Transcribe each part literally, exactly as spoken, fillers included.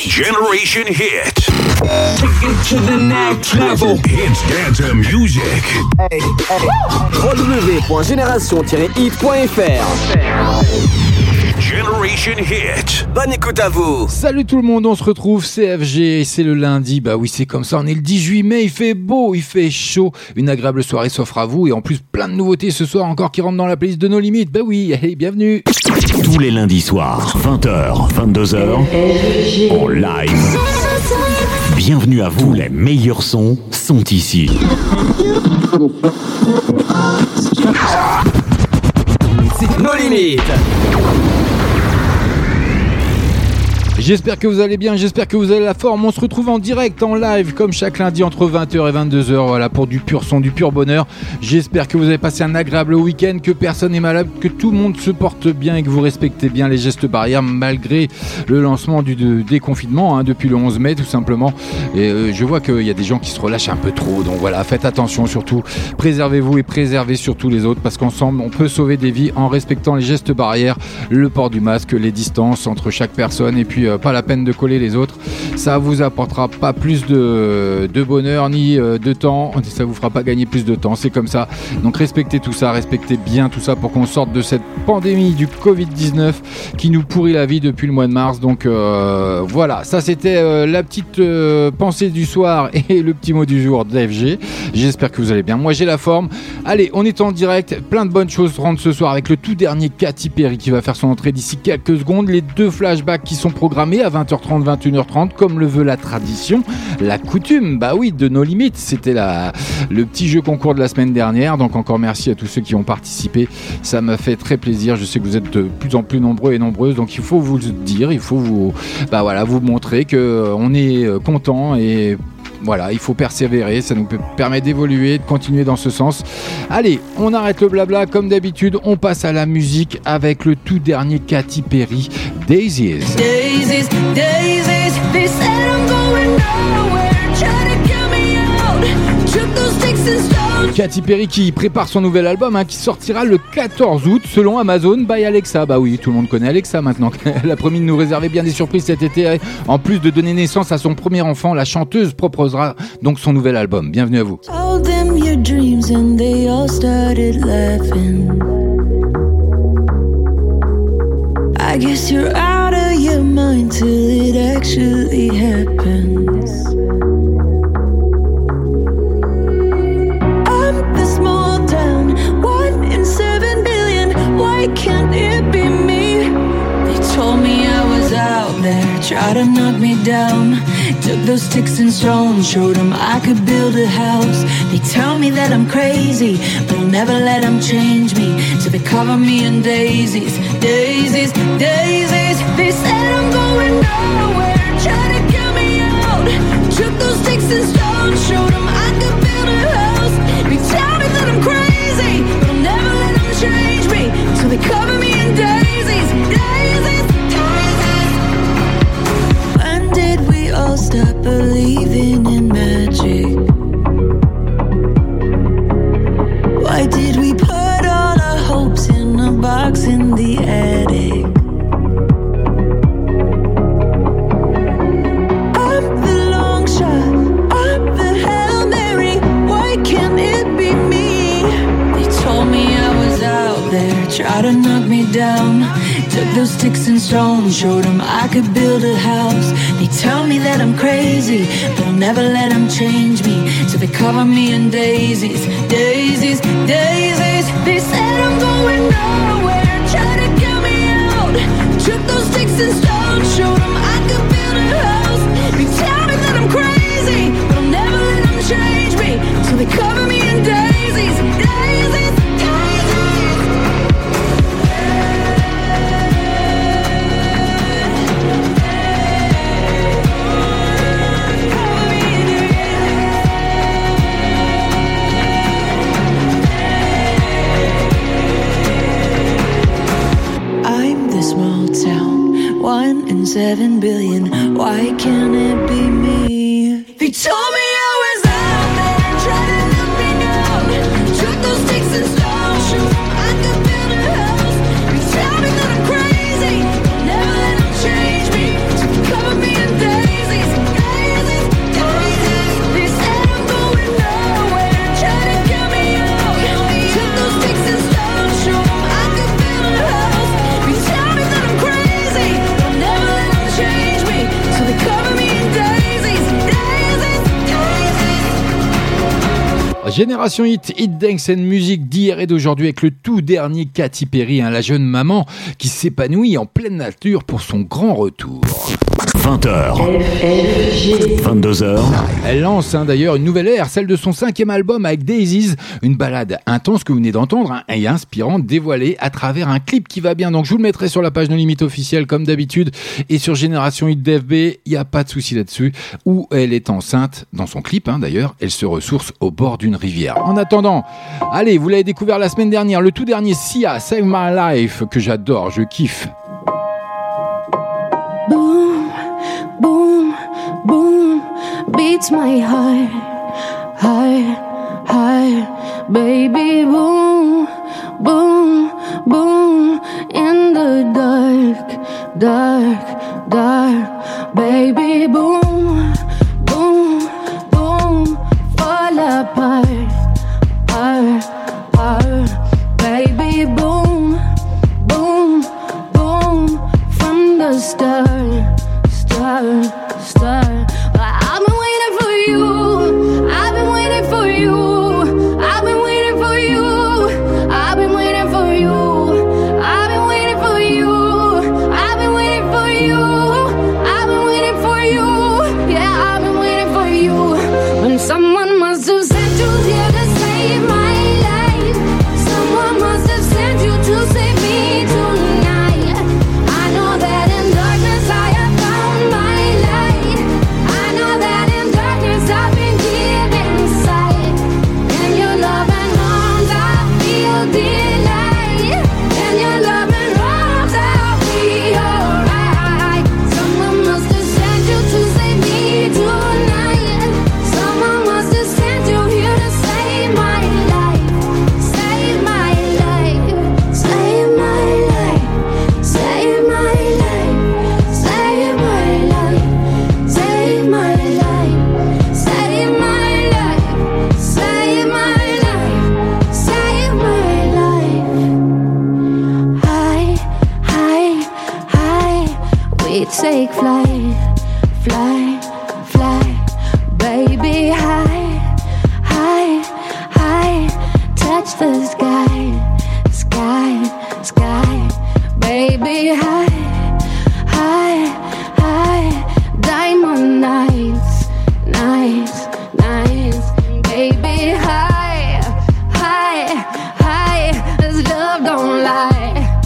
Generation Hit. Take it to the next level. It's dance music. Hey, hey. w w w point génération tiret hit point f r. Generation Hit. Bonne écoute à vous. Salut tout le monde, on se retrouve C F G, c'est le lundi. Bah oui, c'est comme ça, on est le dix-huit mai, il fait beau, il fait chaud. Une agréable soirée s'offre à vous et en plus plein de nouveautés ce soir encore qui rentrent dans la playlist de No Limit. Bah oui, hey, bienvenue. Tous les lundis soirs, vingt heures, vingt-deux heures, en live. Bienvenue à vous, les meilleurs sons sont ici. C'est No Limit. J'espère que vous allez bien, j'espère que vous avez la forme. On se retrouve en direct, en live, comme chaque lundi entre vingt heures et vingt-deux heures, voilà, pour du pur son, du pur bonheur. J'espère que vous avez passé un agréable week-end, que personne n'est malade, que tout le monde se porte bien et que vous respectez bien les gestes barrières malgré le lancement du de, déconfinement, hein, depuis le onze mai tout simplement. Et euh, je vois qu'il y a des gens qui se relâchent un peu trop, donc voilà, faites attention surtout, préservez-vous et préservez surtout les autres, parce qu'ensemble on peut sauver des vies en respectant les gestes barrières, le port du masque, les distances entre chaque personne et puis euh, pas la peine de coller les autres. Ça vous apportera pas plus de, de bonheur ni euh, de temps, ça vous fera pas gagner plus de temps, c'est comme ça. Donc respectez tout ça, respectez bien tout ça pour qu'on sorte de cette pandémie du covid dix-neuf qui nous pourrit la vie depuis le mois de mars. Donc euh, voilà, ça c'était euh, la petite euh, pensée du soir et le petit mot du jour de F G. J'espère que vous allez bien, moi j'ai la forme. Allez, on est en direct, plein de bonnes choses rentrent ce soir avec le tout dernier Katy Perry qui va faire son entrée d'ici quelques secondes, les deux flashbacks qui sont programmés à vingt heures trente, vingt et une heures trente comme le veut la tradition, la coutume, bah oui, de No Limit. C'était la, le petit jeu concours de la semaine dernière, donc encore merci à tous ceux qui ont participé, ça m'a fait très plaisir. Je sais que vous êtes de plus en plus nombreux et nombreuses, donc il faut vous le dire, il faut vous, bah voilà, vous montrer qu'on est content et voilà, il faut persévérer, ça nous permet d'évoluer, de continuer dans ce sens. Allez, on arrête le blabla comme d'habitude, on passe à la musique avec le tout dernier Katy Perry, Daisies. Daisies, daisies, they said I'm going nowhere, try to get me out, took those sticks and stones. Katy Perry qui prépare son nouvel album, hein, qui sortira le quatorze août selon Amazon by Alexa. Bah oui, tout le monde connaît Alexa maintenant. Elle a promis de nous réserver bien des surprises cet été. En plus de donner naissance à son premier enfant, la chanteuse proposera donc son nouvel album. Bienvenue à vous. Told them your dreams and they all started laughing. I guess you're out of your mind till it actually happens. Why can't it be me? They told me I was out there, tried to knock me down. Took those sticks and stones, showed them I could build a house. They tell me that I'm crazy, but I'll never let them change me. So they cover me in daisies, daisies, daisies. They said I'm going nowhere, try to get me out. Took those sticks and stones, showed them I could build a house. They tell me that I'm crazy, but I'll never let them change me. So they cover me in daisies, daisies, daisies. When did we all stop believing in magic? Why did we put all our hopes in a box in the attic? I'm the long shot, I'm the Hail Mary. Why can't it be me? They told me I was out there, try to knock me down. Took those sticks and stones, showed them I could build a house. They tell me that I'm crazy, but I'll never let them change me. So they cover me in daisies, daisies, daisies. They said I'm going nowhere, try to get me out. Took those sticks and stones, showed them I could build a house. They tell me that I'm crazy, but I'll never let them change me. So they cover me in daisies, daisies. One in seven billion. Why can't it be me? They told me I was out there, trying to knock me down. Took those sticks and stones, showed them I could build a house. They tell me that I'm crazy, never let them change me. So they cover me in death. Génération Hit, Hit Dance and Music d'hier et d'aujourd'hui avec le tout dernier Katy Perry, hein, la jeune maman qui s'épanouit en pleine nature pour son grand retour. vingt heures, vingt-deux heures. Elle lance hein, d'ailleurs une nouvelle ère, celle de son cinquième album avec Daisies, une balade intense que vous venez d'entendre hein, et inspirante, dévoilée à travers un clip qui va bien. Donc je vous le mettrai sur la page No Limite officielle comme d'habitude et sur Génération Hit D F B, il n'y a pas de souci là-dessus, où elle est enceinte dans son clip hein, d'ailleurs, elle se ressource au bord d'une rivière. En attendant, allez, vous l'avez découvert la semaine dernière, le tout dernier Sia, Save My Life, que j'adore, je kiffe. Boom, boom, boom, beats my heart, heart, heart, baby, boom, boom, boom, in the dark, dark, dark, baby, boom, boom, boom, fall apart, heart, heart, baby, boom, boom, boom, from the start, start, start. I've been waiting for you. I've been waiting for you. I've been waiting for you. I've been waiting for you. I've been waiting for you. I've been waiting for you. I've been waiting for you. Yeah, I've been waiting for you. When someone must have sent you here to save my life. Someone must have sent you to save me tonight. I know that in darkness I have found my light. I know that in darkness I've been given sight. In your loving arms I feel delight. In your loving arms I'll be alright. Someone must have sent you to save me tonight. Someone must have sent you here to save my life. Save my life. Save my life. Save my life. Save my life. Save my life. Save my life. Save my life. Save my life. High, high, high. We take flight, fly, fly, baby. High, high, high. Touch the sky, sky, sky, baby. High, high, high. Diamond nights, nights, nights, baby. High, high, high. This love don't lie,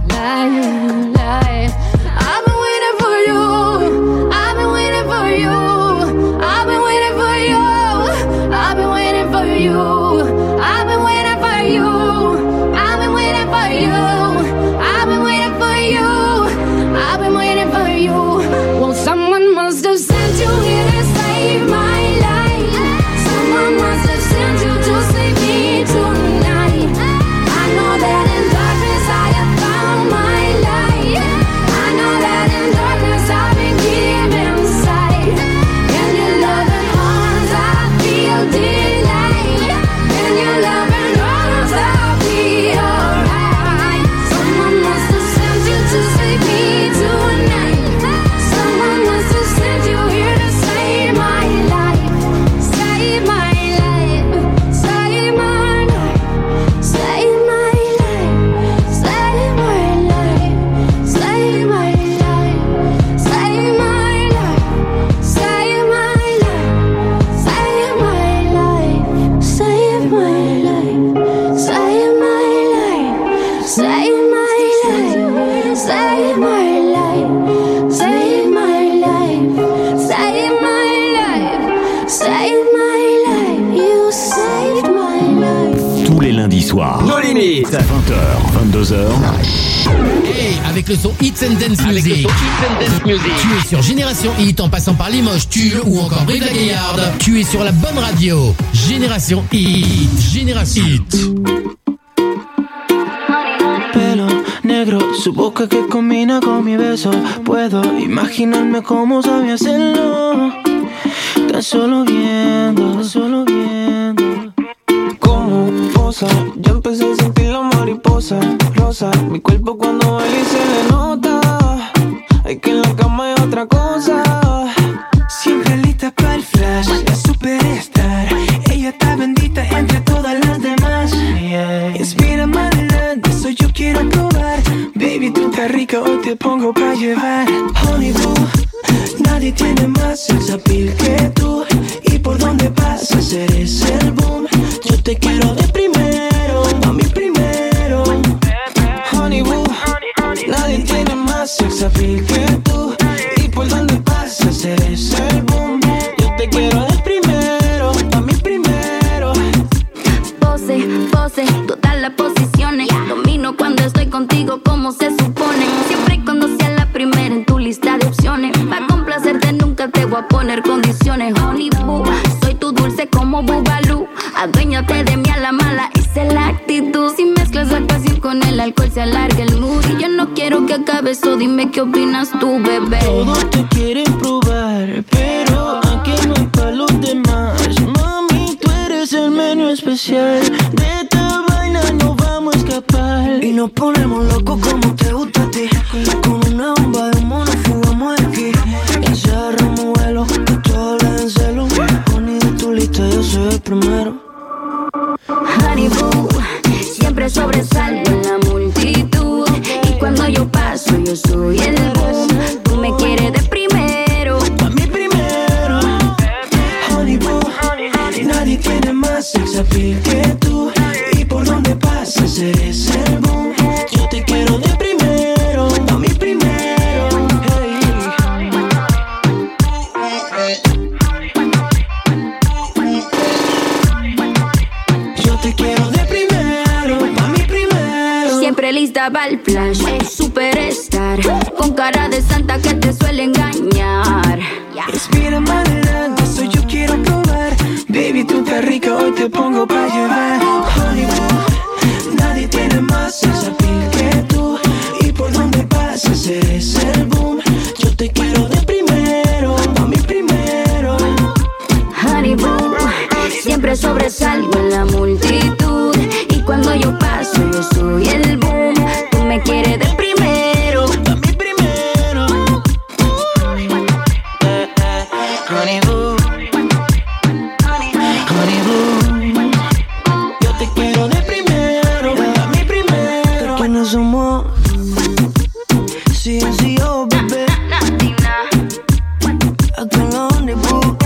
lie, lie. I've been waiting for you. I've been waiting for you. I've been waiting for you. I've been waiting for you. I've been waiting for you. I've been waiting for you. I've been waiting for you. I've been waiting for you. Well, someone must have sent you here to save my life. Someone must have sent you to save me tonight. I know that in darkness I have found my light. I know that in darkness I've been given sight. In your loving arms I feel delight. In your loving arms I'll be alright. Someone must have sent you to save me tonight. Someone must have sent you here to save my life. Save my life. Save my life. Save my life. Save my life. Save my life. Save my life. Save my life. Save my life. Save my life. Save my life. Save my life. Save my life. Save my life. Save my life. Save my life. You saved my life. Tous les lundis soirs, Nos limites. vingt heures, vingt-deux heures. Hey, avec le son Hits and Dance Music. Tu es sur Génération Hit en passant par Limoges, Tulle ou encore Brive-la-Gaillarde. Tu es sur la bonne radio. Génération Hit. Génération Hit. Pelo negro, su boca que combina con mi beso. Puedo imaginarme cómo sabe hacerlo. Tan solo viendo, tan solo viendo. Como posa, ya empecé a sentir la mariposa rosa. Mi cuerpo cuando baila y se le nota. Hay que en la cama hay otra cosa. Siempre lista para el flash, la superstar. Ella está bendita en te pongo pa' llevar. Honey boo, nadie tiene más sex appeal que tú. Y por donde pasas eres el boom. Yo te quiero de primero, a mí primero. Honey boo, nadie tiene más sex appeal que tú. Y por donde pasas eres el boom. Yo te quiero de primero, a mí primero. Pose, pose, todas las posiciones. Domino cuando estoy contigo como se supone. Siempre y cuando sea la primera en tu lista de opciones. Pa' complacerte nunca te voy a poner condiciones. Honey boo, soy tu dulce como Bubalú. Aduéñate de mí a la mala, esa es la actitud. Si mezclas la pasión con el alcohol se alarga el mood. Y yo no quiero que acabe eso, dime qué opinas tú, bebé. Todos te quieren probar, pero aquí no es pa' los demás. Mami, tú eres el menú especial. De esta vaina no vamos a escapar. Y nos ponemos locos como te gusta a ti. Con una bomba de mono fugamos de aquí. Y se agarramos vuelo, que todo le den celo. Honey, de tu lista yo soy el primero. Honey boo, siempre sobresalgo en la multitud. Y cuando yo paso yo soy el boom. Tú me quieres de primero, a mí primero. Honey boo, nadie tiene más sex appeal que tú. Y por donde pasas eres el boom. Yo te quiero de primero, a mí primero. Hey. Yo te quiero de primero, a mí primero. siempre lista para el flash. Superstar, con cara de santa que te suele engañar. Respira más adelante, soy yo quiero probar. Baby, tú estás rica, hoy te pongo pa' llevar. Hollywood, nadie tiene más sex appeal que tú. Y por donde pasas eres el boom. Yo te quiero de primero, a mí primero. Hollywood, siempre sobresalgo en la multitud. Y cuando yo paso yo soy el boom. Tú me quieres de primero, a mí primero. eh, eh, Hollywood, Hollywood, yo te quiero de primero, a mí primero. Que no somos C N C O, bebé. Acá en la Hollywood.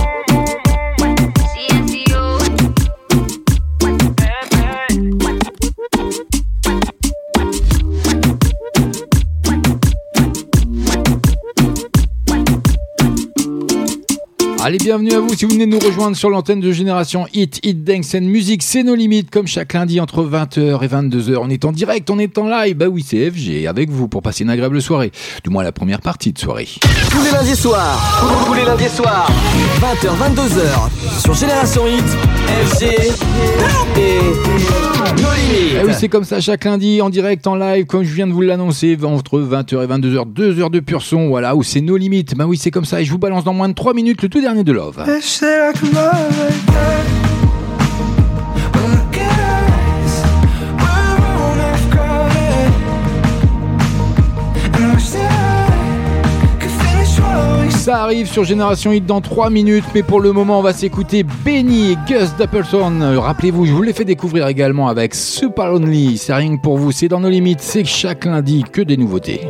Allez, bienvenue à vous si vous venez de nous rejoindre sur l'antenne de Génération Hit, Hit Dance and Music, c'est nos limites, comme chaque lundi entre vingt heures et vingt-deux heures. On est en direct, on est en live, bah oui, c'est F G avec vous pour passer une agréable soirée, du moins la première partie de soirée. Tous les lundis soirs, tous les lundis soirs, vingt heures, vingt-deux heures, sur Génération Hit, F G et nos limites. Ah oui, c'est comme ça chaque lundi en direct, en live, comme je viens de vous l'annoncer, entre vingt heures et vingt-deux heures, deux heures de pur son, voilà, où c'est nos limites. Bah oui, c'est comme ça, et je vous balance dans moins de trois minutes le tout dernier de Love. Ça arrive sur Génération Hit dans trois minutes, mais pour le moment on va s'écouter Benny et Gus Dapperton. Rappelez-vous, je vous l'ai fait découvrir également avec Super Lonely. C'est rien que pour vous, c'est dans nos limites, c'est chaque lundi que des nouveautés.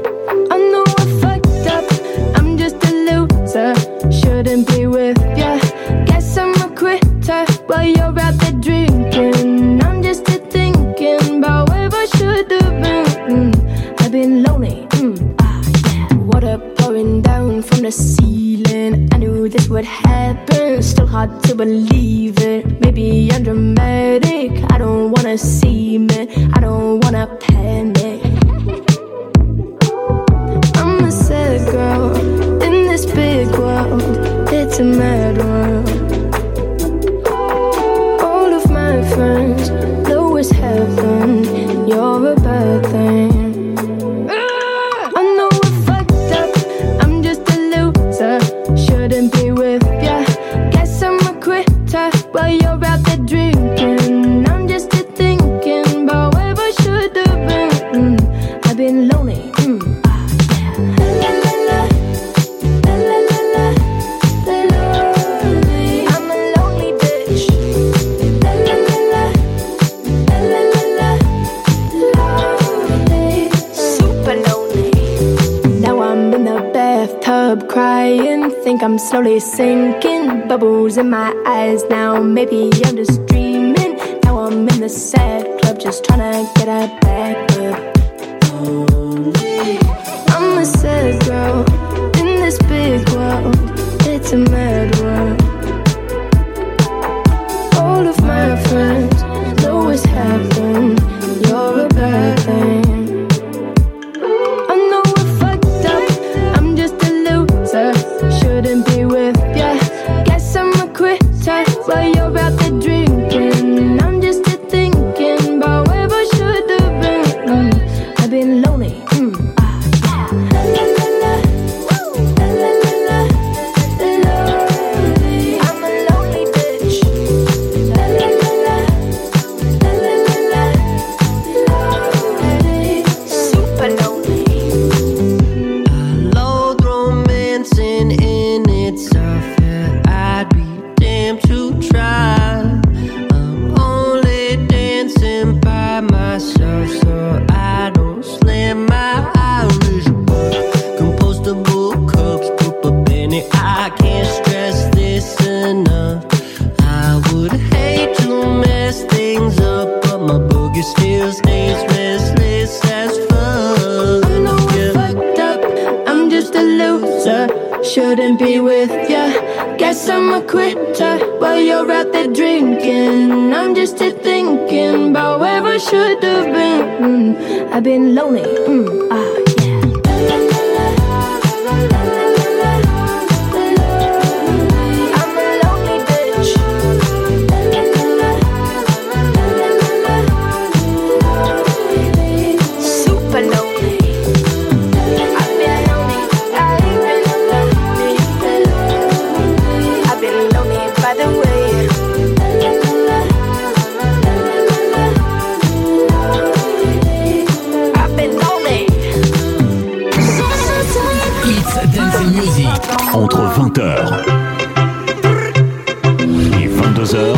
Shouldn't be with ya. Guess I'm a quitter while you're out there drinking. I'm just here thinking about where I should have been. Mm, I've been lonely. Mm, ah, yeah. Water pouring down from the ceiling. I knew this would happen. Still hard to believe it. Maybe I'm dramatic. I don't wanna see me. I don't wanna panic. I'm a sad girl in this big world. It's a mad world. All of my friends know it's heaven. You're a bad thing. I know I fucked up. I'm just a loser. Shouldn't be with ya. Guess I'm a quitter while you're out there drinking. I'm just here thinking about where I should have been. Mm, I've been lonely. Mm, ah, yeah. La, la, la, la. La, la, la, la. think I'm slowly sinking. Bubbles in my eyes now. Maybe I'm just dreaming. Now I'm in the sad club, just trying to get a back up. I'm a sad girl in this big world. It's a mad world. All of my friends know what's happening. You're a bad thing. I know we're fucked up. I'm just a loser. Shouldn't be with ya. Guess I'm a quitter while you're out there drinking. I'm just a thinking about where I should have been. Mm, I've been lonely. Mm, ah, yeah. La la la la. La la la la. Lonely. I'm a lonely bitch. La la la la. La la la la. Lonely. Super lonely. I loathe romancing in itself. Yeah, I'd be damned to try. I'm only dancing by myself, so I don't slam my Irish bar. Compostable cups, poop a penny. I can't stress this enough. I would hate to mess things up, but my boogie still stays restless as fuck. I know I'm Yeah. fucked up. I'm just a loser. Shouldn't be with ya. Guess I'm a quitter while you're out there drinking. I'm just here thinking about where I should have been. Mm, I've been lonely. Mm, ah, yeah. La, la, la, la, la, la, la, lonely. I'm a lonely bitch. La, la, la, la, la, la, la, lonely. Super lonely. I've been lonely. I've been lonely. I've been lonely by the way. I've been lonely. It's Dancing Music. Entre vingt heures et vingt-deux heures,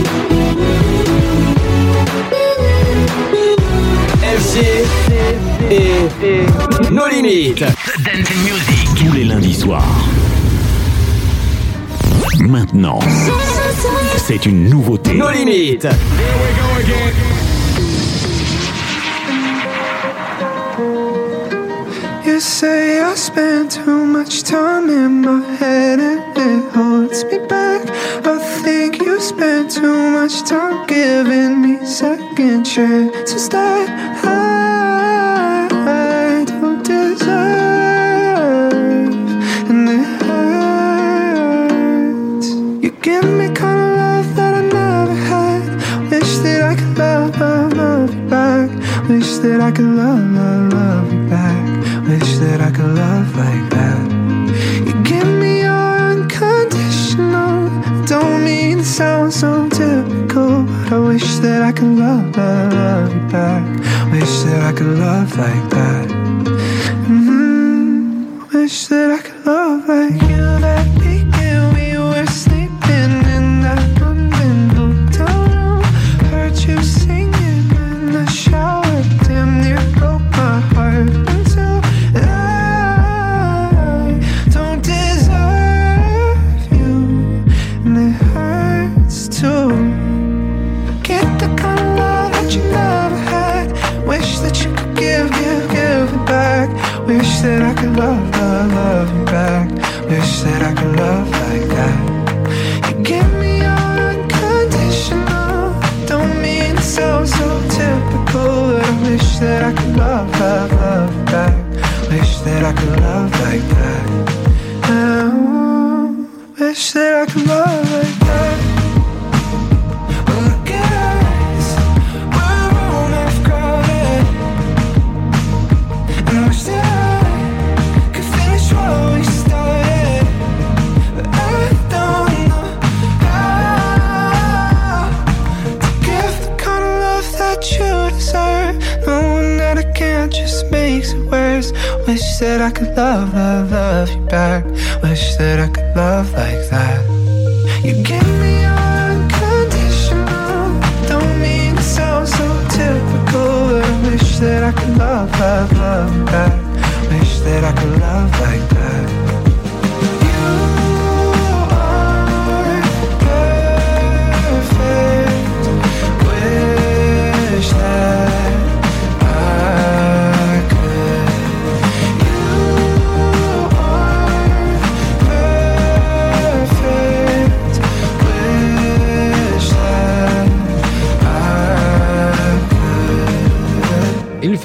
F G et nos limites. Dancing Music. tous les lundis soirs. Maintenant, c'est une nouveauté. Nos limites. You say I spend too much time in my head and it holds me back. I think you spend too much time giving me second chances that I, I don't deserve. And it hurts. You give me kind of love that I never had. Wish that I could love, love, love you back. Wish that I could love, love, love you back. Wish that I could love like that. You give me your unconditional. Don't mean to sound so typical, but I wish that I could love, love, love you back. Wish that I could love like that. Mm-hmm. Wish that I could love like you. That weekend we were sleeping in that London hotel room. Heard you singing in the shower. Damn near broke my heart. Until I don't deserve you, and it hurts too. Get the kind of love that you never had. Wish that you could give, give, give it back. Wish that I could love, love, love you back. Wish that I could love like that. You give me your unconditional. Don't mean to sound so typical, but I wish that I could love, love, love you back. Wish that I could love like that. Oh, wish that I could love like that. Look at us, we're all half crowded. And I wish that I could finish what we started, but I don't know how to give the kind of love that you deserve. Knowing that I can't just makes it worse. Wish that I could love, love, love you back. Wish that I could love like that. You give me your unconditional. Don't mean to sound so typical, but I wish that I could love, love, love you back. Wish that I could love like that. You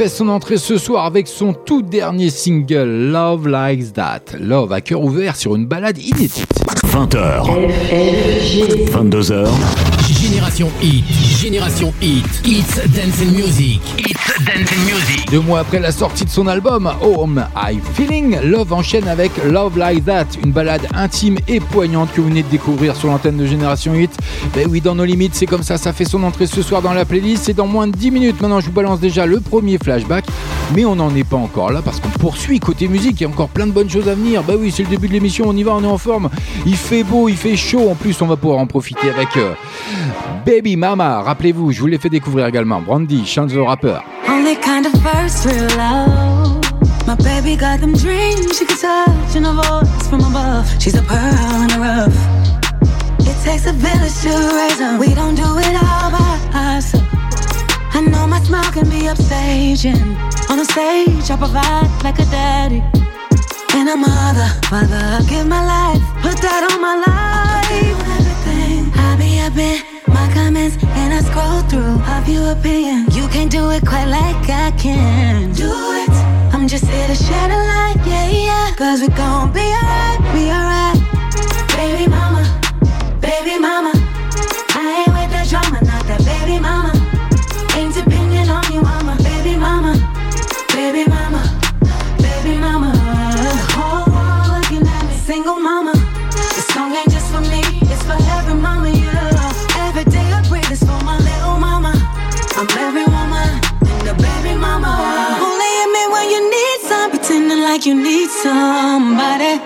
fait son entrée ce soir avec son tout dernier single Love Likes That. Love à cœur ouvert sur une balade inédite. vingt heures, vingt-deux heures. Génération Hit, Génération Hit, It's Dance and Music, It's Dance and Music. Deux mois après la sortie de son album Home I Feeling, Love enchaîne avec Love Like That, une balade intime et poignante que vous venez de découvrir sur l'antenne de Génération Hit. Ben oui, dans nos limites, c'est comme ça, ça fait son entrée ce soir dans la playlist. C'est dans moins de dix minutes. Maintenant, je vous balance déjà le premier flashback, mais on n'en est pas encore là parce qu'on poursuit côté musique. Il y a encore plein de bonnes choses à venir. Ben oui, c'est le début de l'émission, on y va, on est en forme. Il fait beau, il fait chaud. En plus, on va pouvoir en profiter avec euh, Baby Mama. Rappelez-vous, je vous l'ai fait découvrir également. Brandy, Chance the Rapper. Only kind of first real love. My baby got them dreams she can touch and a voice from above. She's a pearl in the rough. It takes a village to raise her. We don't do it all by ourselves. I know my smile can be upstaging. On the stage, I provide like a daddy and a mother. Father, I give my life, put that on my life. Everything I be up in my comments and I scroll through of your opinion. You can't do it quite like I can. Do it. I'm just here to shed a light, yeah, yeah. Cause we gon' be alright, be alright. Baby mama, baby mama. I ain't with the drama, not that baby mama. Ain't depending on you, mama. Baby mama, baby mama, baby mama. The whole world looking at me, single mama. This song ain't just for me, it's for every mama, yeah. Every day I breathe is for my little mama. I'm every woman and the baby mama. Only hit me when you need some, pretending like you need somebody.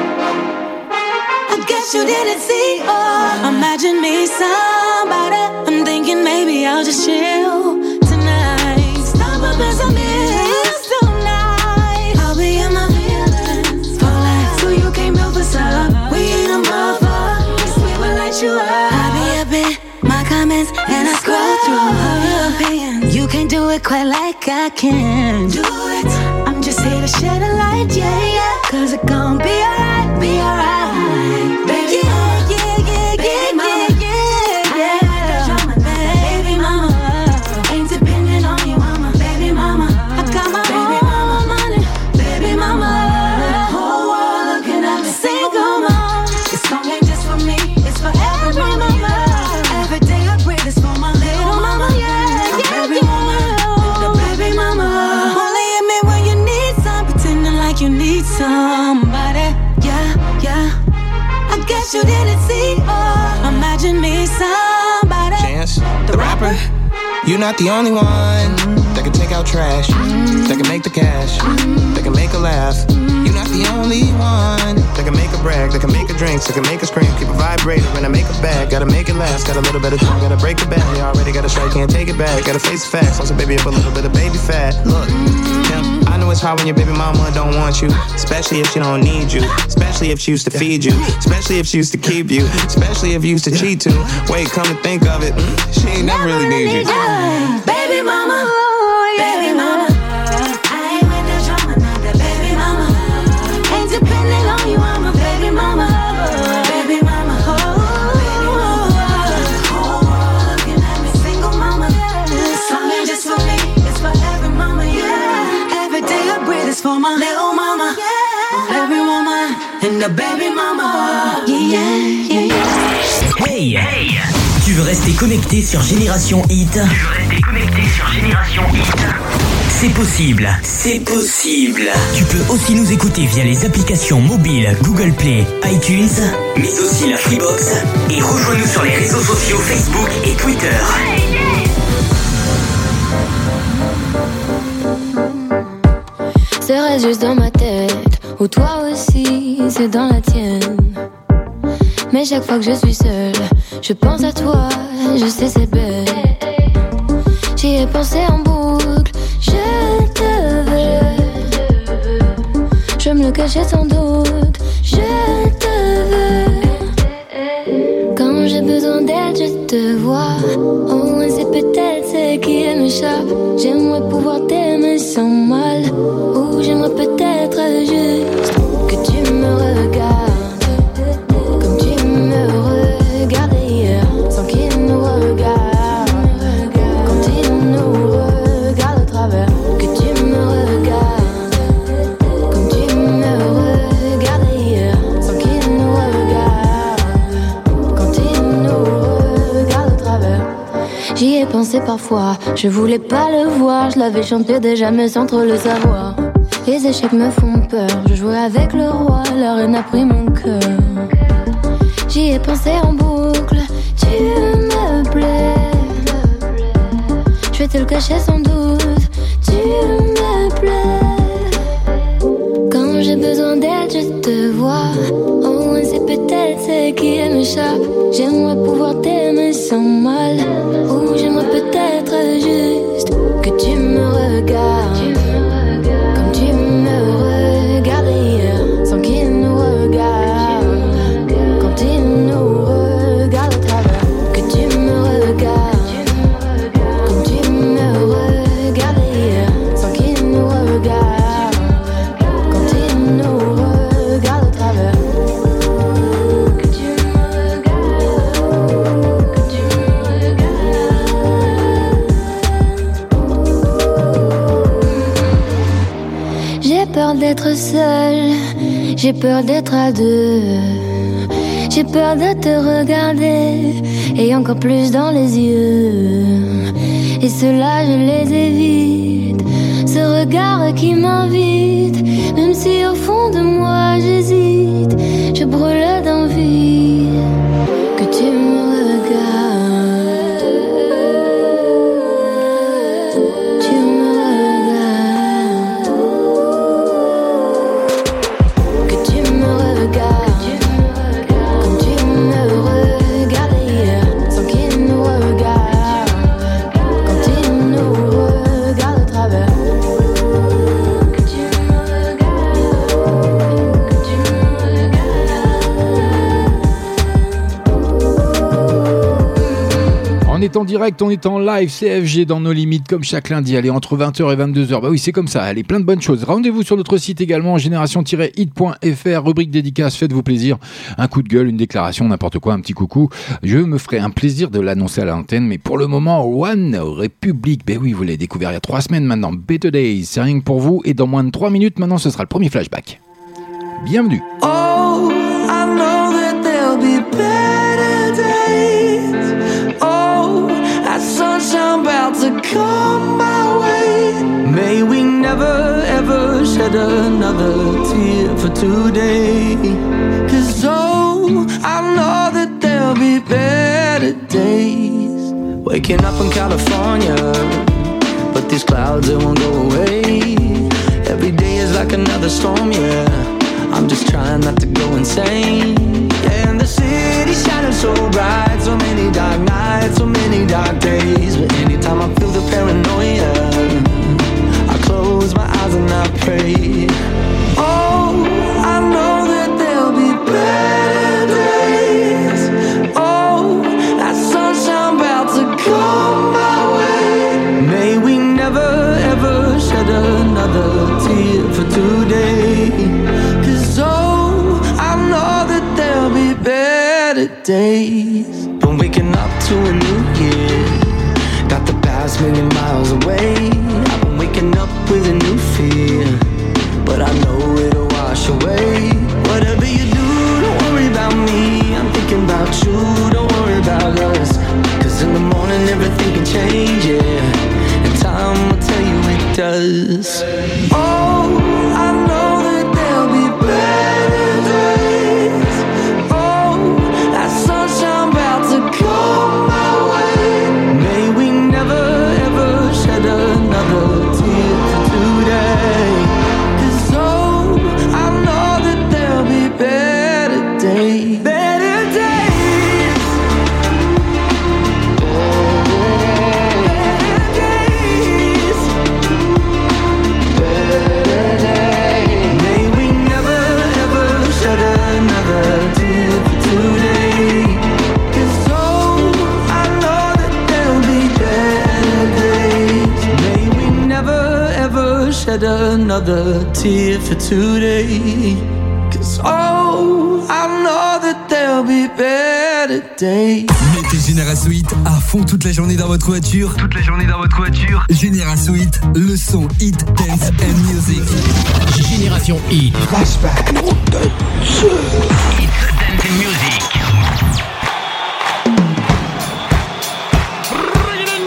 I guess you didn't see, oh, imagine me somebody. I'm thinking maybe I'll just chill tonight. Stop up and some hills tonight. I'll be in my feelings for life, so you came built for some. We ain't a mother, we will light you up. I'll be up in my comments and I scroll through all your opinions. You can't do it quite like I can. Do it. I'm just here to shed a light, yeah, yeah. Cause it gon' be alright, be alright. Baby, yeah, yeah, yeah, yeah, yeah, yeah, yeah. I ain't got drama, baby mama. Ain't depending on you, mama. Baby mama, I got my baby own money. Baby mama, the whole world looking at me, single mom. This song ain't just for me, it's for every mama. Every day I breathe is for my little mama, yeah. I'm every woman, the baby mama. Only hit me when you need some, pretending like you need somebody, yeah, yeah. I guess you didn't see, oh, imagine me somebody. Chance, the rapper, you're not the only one that can take out trash, that can make the cash, that can make a laugh. You're not the only one that can make a brag, that can make a drink, that can make a scream, keep a vibrator and I make a bag. Gotta make it last, got a little bit of time, gotta break the bag. You already got a strike, can't take it back. Gotta face the facts, also baby up a little bit of baby fat. Look, yeah, I know it's hard when your baby mama don't want you, especially if she don't need you, especially if she used to feed you, especially if she used to keep you, especially if you used to cheat too. Wait, come to think of it, she ain't never really need you. Baby mama, baby mama. I ain't with the drama, not that baby mama. Ain't depending on you, I'm a baby mama. Baby mama, oh, baby mama. The whole world looking at me, single mama. This song ain't just for me, it's for every mama, yeah. Every day I breathe is for my little mama, yeah. Every woman and the baby mama, yeah, yeah, yeah. Hey, hey. Tu veux rester connecté sur Génération Hit? Tu veux rester connecté sur Génération Hit? C'est possible, c'est possible. Tu peux aussi nous écouter via les applications mobiles Google Play, iTunes, mais aussi la Freebox. Et rejoins-nous sur les réseaux sociaux Facebook et Twitter. Serait juste dans ma tête, ou toi aussi, c'est dans la tienne. Mais chaque fois que je suis seule, je pense à toi, je sais c'est bête. J'y ai pensé en boucle, je te veux. Je me le cachais sans doute, je te veux. Quand j'ai besoin d'aide, je te vois. Au moins c'est peut-être ce qui m'échappe. J'aimerais pouvoir t'aimer sans mal, ou j'aimerais peut-être juste que tu me regardes. Sans qu'il nous regarde, quand il nous regarde au travers, que J'y ai pensé parfois, je voulais pas le voir. Je l'avais chanté déjà mais sans trop le savoir. Les échecs me font peur, je jouais avec le roi. La reine a pris mon cœur. J'y ai pensé en boucle, tu me plais. Je vais te le cacher sans doute, tu me plais. Quand j'ai besoin d'aide, je te vois. Au moins c'est peut-être ce qui m'échappe. J'aimerais pouvoir t'aimer sans mal. Ou j'aimerais peut-être juste que tu me regardes comme tu me regardais hier, sans qu'il nous regarde. Quand il nous regarde au travers, que tu me regardes comme tu me regardais hier, sans qu'il nous regarde. Quand il nous regarde au travers. J'ai peur d'être seule, j'ai peur d'être à deux. J'ai peur de te regarder, et encore plus dans les yeux. Et ceux-là je les évite, ce regard qui m'invite. Même si au fond de moi j'hésite, je brûle d'envie que tu me regardes. Tu me regardes. Que tu me regardes comme tu me regardais hier, sans qu'il nous regarde. Quand il nous regarde au travers. On est en direct, on est en live, C F G dans nos limites comme chaque lundi, allez entre vingt heures et vingt-deux heures, bah oui c'est comme ça, allez plein de bonnes choses. Rendez-vous sur notre site également, génération tiret hit point f r, rubrique dédicace, faites-vous plaisir, un coup de gueule, une déclaration, n'importe quoi, un petit coucou, je me ferai un plaisir de l'annoncer à l'antenne, mais pour le moment, One Republic, bah oui vous l'avez découvert il y a trois semaines maintenant, Better Days, c'est rien que pour vous, et dans moins de trois minutes maintenant ce sera le premier flashback. Bienvenue. Oh, I know that there'll be better days. Oh, that sunshine about to come my way. May we never ever shed another tear for today. Cause oh, I know that there'll be better days. Waking up in California, but these clouds, they won't go away. Every day is like another storm, yeah. I'm just trying not to go insane. Yeah, and the city's shining so bright. So many dark nights, so many dark days. But anytime I feel the paranoia, I close my eyes and I pray. Oh, I know that there'll be better days. Oh, that sunshine about to come my way. May we never ever shed another tear for today. So I know that there'll be better days. Been waking up to a new year, got the past million miles away. I've been waking up with a new fear, but I know it'll wash away. Whatever you do, don't worry about me. I'm thinking about you, don't worry about us. Cause in the morning everything can change, yeah, and time will tell you it does. Oh, I know that there'll be better days. Oh, that sunshine about to come my way. May we never ever shed another tear for today. Cause oh, I know that there'll be better days. Better days. Better days. Better days. May we never ever shed another tear for today. Cause oh, I know that there'll be better days. May we never ever shed another tear for today. Cause oh, I know that there'll be better days. Mettez Génération Hit à fond toute la journée dans votre voiture. Toute la journée dans votre voiture. Génération Hit, le son hit, dance and music. Génération Hit. Flashback. Hit, dance and music.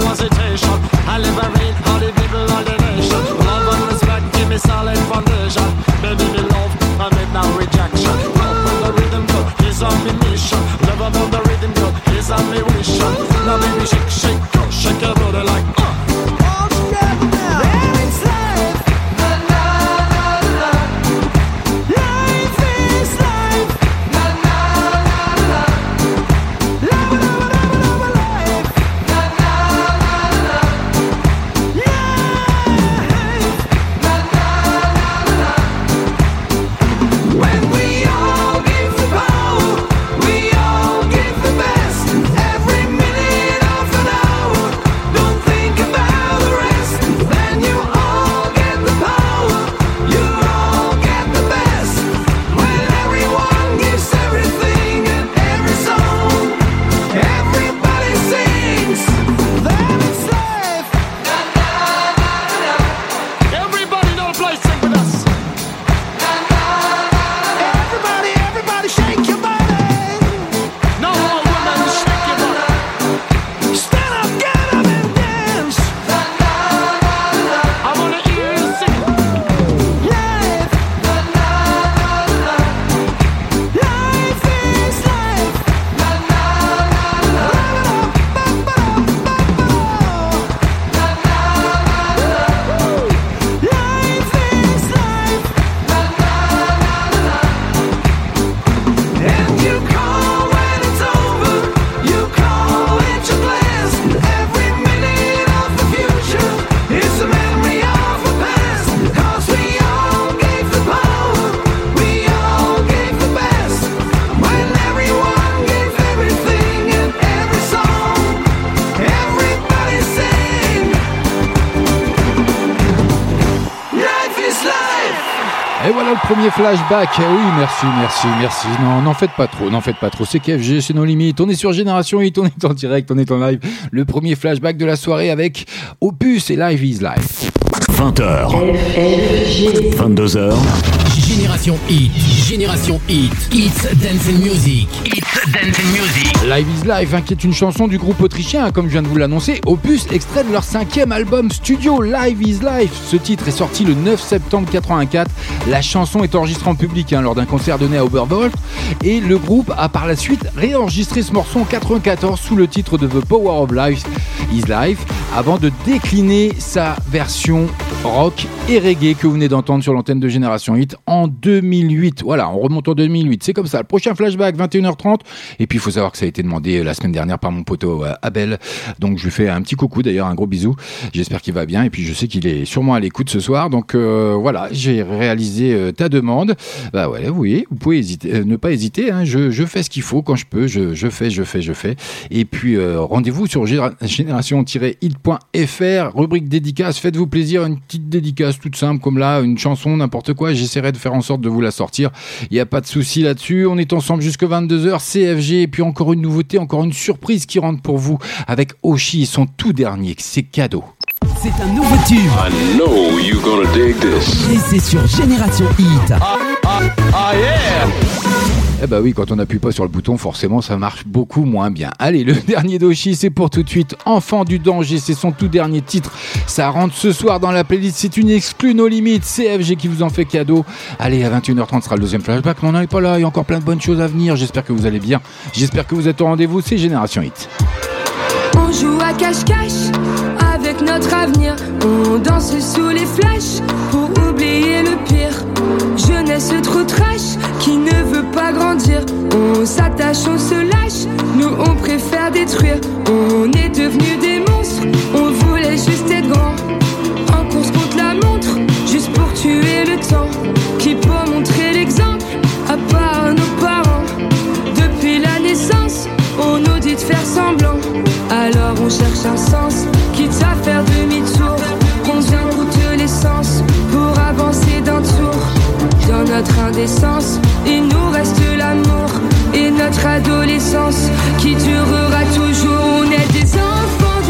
hesitation. I liberate all the people of the nation. Love and respect, give me solid foundation. Baby, me love, I make no rejection. Love on the rhythm, girl, is on me mission. Love on the rhythm, girl, is on me wish. Now baby, shake, shake, girl, shake your body like uh. All together now. It's life. Na na na na. Life is life. Na na na na. Love, love, love, love, life. Na na na na. Life. Na na na na. When we all give the power, we all give the best. Every minute of an hour, don't think about the rest. Then you all get the power, you all get the best. When everyone gives everything and every song, everybody sings, then it's life. Na na na na. Everybody know the place, sing with us. Na na na na. Everybody, everybody shake your body. No more women, shake your body. Stand up, get up and dance. Na na na na. I wanna hear you sing. Life. Na na na na. Life is life. Na na na na. Na na na na. Life is life. Na na na na. And you call when it's over, you call it your glass. Every minute of the future is a memory of the past. Cause we all gave the power, we all gave the best. When everyone gave everything and every song, everybody sing. Life is life. Et voilà le premier flashback. Eh oui, merci, merci, merci. Non, n'en faites pas trop, n'en faites pas trop. C'est K F G, c'est nos limites. On est sur Génération Hit, on est en direct, on est en live. Le premier flashback de la soirée avec Opus et Live is Life. vingt heures. vingt-deux heures. Génération Hit, Génération Hit, It's Dance and Music, It's Dance and Music. Live is Life, hein, qui est une chanson du groupe autrichien, hein, comme je viens de vous l'annoncer. Opus, extrait de leur cinquième album studio, Live is Life. Ce titre est sorti le neuf septembre quatre-vingt-quatre. La chanson est enregistrée en public hein, lors d'un concert donné à Oberwolf. Et le groupe a par la suite réenregistré ce morceau en quatre-vingt-quatorze sous le titre de The Power of Life is Life, avant de décliner sa version rock et reggae que vous venez d'entendre sur l'antenne de Génération Hit en deux mille huit. Voilà, on remonte en deux mille huit. C'est comme ça. Le prochain flashback, vingt et une heures trente. Et puis, il faut savoir que ça a été demandé la semaine dernière par mon poteau euh, Abel. Donc, je lui fais un petit coucou, d'ailleurs, un gros bisou. J'espère qu'il va bien. Et puis, je sais qu'il est sûrement à l'écoute ce soir. Donc, euh, voilà, j'ai réalisé euh, ta demande. Bah ouais, vous voyez, vous pouvez hésiter, euh, ne pas hésiter. Hein. Je, je fais ce qu'il faut quand je peux. Je, je fais, je fais, je fais. Et puis, euh, rendez-vous sur génération tiret hit point f r, rubrique dédicace. Faites-vous plaisir, une petite dédicace toute simple comme là, une chanson, n'importe quoi. J'essaierai de faire en sorte de vous la sortir. Il n'y a pas de souci là-dessus. On est ensemble jusqu'à vingt-deux heures. C F G. Et puis encore une nouveauté, encore une surprise qui rentre pour vous avec Oshi et son tout dernier. C'est cadeau. C'est un nouveau tube. I know you're gonna dig this. Et c'est sur Génération Hit. Ah, ah, ah yeah. Eh bah oui, quand on n'appuie pas sur le bouton, forcément, ça marche beaucoup moins bien. Allez, le dernier d'Oshi, c'est pour tout de suite. Enfant du danger, c'est son tout dernier titre. Ça rentre ce soir dans la playlist. C'est une exclue No Limites. C F G qui vous en fait cadeau. Allez, à vingt et une heures trente sera le deuxième flashback. Mais on n'en est pas là. Il y a encore plein de bonnes choses à venir. J'espère que vous allez bien. J'espère que vous êtes au rendez-vous. C'est Génération Hit. On joue à cache-cache avec notre avenir. On danse sous les flashs pour oublier le pire. Jeunesse trop trash qui ne veut pas grandir. On s'attache, on se lâche. Nous on préfère détruire. On est devenus des monstres. On voulait juste être grand. En course contre la montre, juste pour tuer le temps. Qui peut montrer l'exemple à part nos parents. Depuis la naissance, on nous dit de faire semblant. Alors on cherche un sens, quitte à faire demi-tour. Combien coûte l'essence pour avancer d'un tour? Dans notre indécence, il nous reste l'amour et notre adolescence qui durera toujours. On est des enfants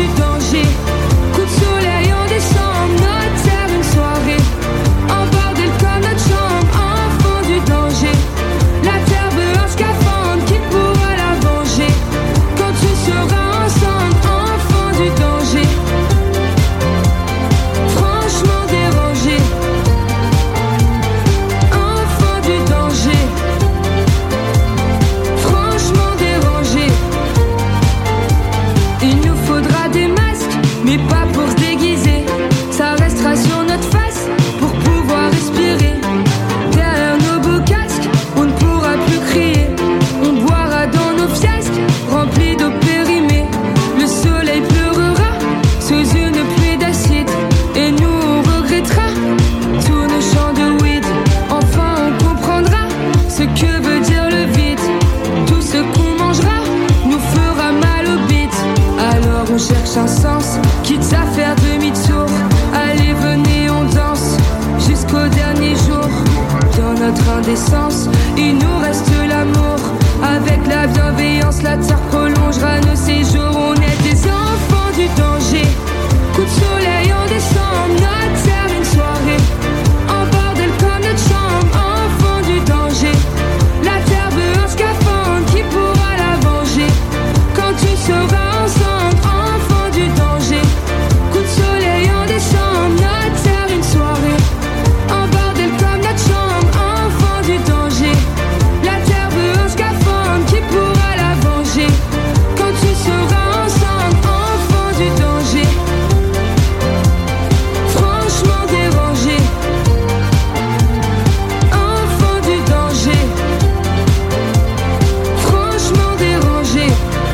pense, quitte à faire demi-tour. Allez, venez, on danse jusqu'au dernier jour. Dans notre indécence, il nous reste l'amour. Avec la bienveillance, la terre prolongera nos séjours. On est des enfants du danger. Coup de soleil en décembre, notre terre une soirée. En bordel comme notre chambre, enfants du danger. La terre veut un scaphandre, qui pourra la venger? Quand tu seras ensemble, enfants du danger. Coup de soleil en décembre, notre terre une soirée. En bordel comme notre chambre, enfants du danger. La terre veut un scaphandre, qui pourra la venger? Quand tu seras ensemble, enfants du danger. Franchement dérangé, enfants du danger. Franchement dérangé.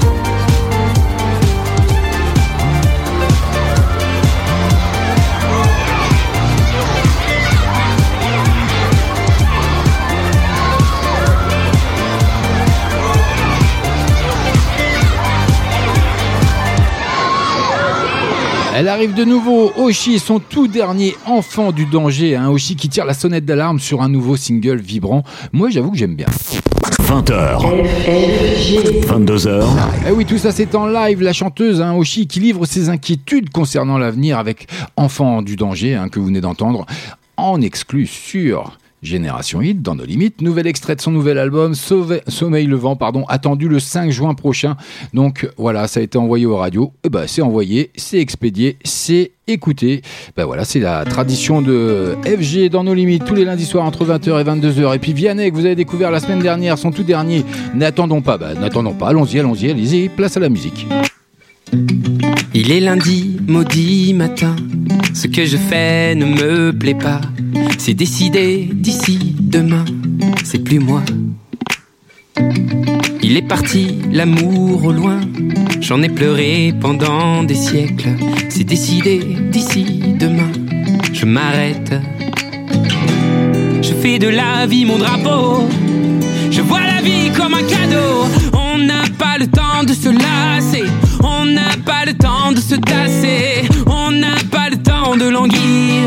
Elle arrive de nouveau, Oshi, son tout dernier enfant du danger, hein, Oshi qui tire la sonnette d'alarme sur un nouveau single vibrant. Moi j'avoue que j'aime bien. vingt heures, vingt-deux heures. Eh oui, tout ça c'est en live, la chanteuse hein, Oshi qui livre ses inquiétudes concernant l'avenir avec Enfant du danger, hein, que vous venez d'entendre, en exclu sur Génération Hit, dans nos limites. Nouvel extrait de son nouvel album, Sauve... Sommeil Levant, pardon, attendu le cinq juin prochain. Donc voilà, ça a été envoyé aux radios. Et ben, c'est envoyé, c'est expédié, c'est écouté. Ben voilà, c'est la tradition de F G dans nos limites, tous les lundis soirs entre vingt heures et vingt-deux heures. Et puis Vianney, que vous avez découvert la semaine dernière, son tout dernier. N'attendons pas, ben, n'attendons pas, allons-y, allons-y, allez-y, place à la musique. Il est lundi, maudit matin. Ce que je fais ne me plaît pas. C'est décidé d'ici demain. C'est plus moi. Il est parti, l'amour au loin. J'en ai pleuré pendant des siècles. C'est décidé d'ici demain. Je m'arrête. Je fais de la vie mon drapeau. Je vois la vie comme un cadeau. On n'a pas le temps de se lasser. On n'a pas le temps de se tasser. On n'a pas le temps de languir.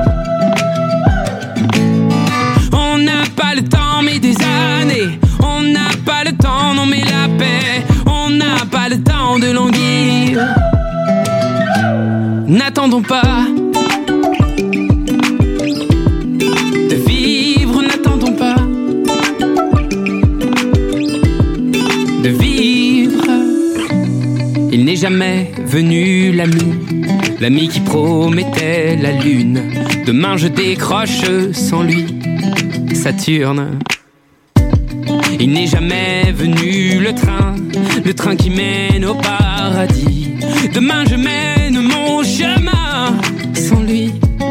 On n'a pas le temps mais des années. On n'a pas le temps, non mais la paix. On n'a pas le temps de languir. N'attendons pas de vivre, n'attendons pas de vivre. Il n'est jamais venu l'ami, l'ami qui promettait la lune. Demain je décroche sans lui, Saturne. Il n'est jamais venu le train, le train qui mène au paradis. Demain je mène mon chemin sans lui.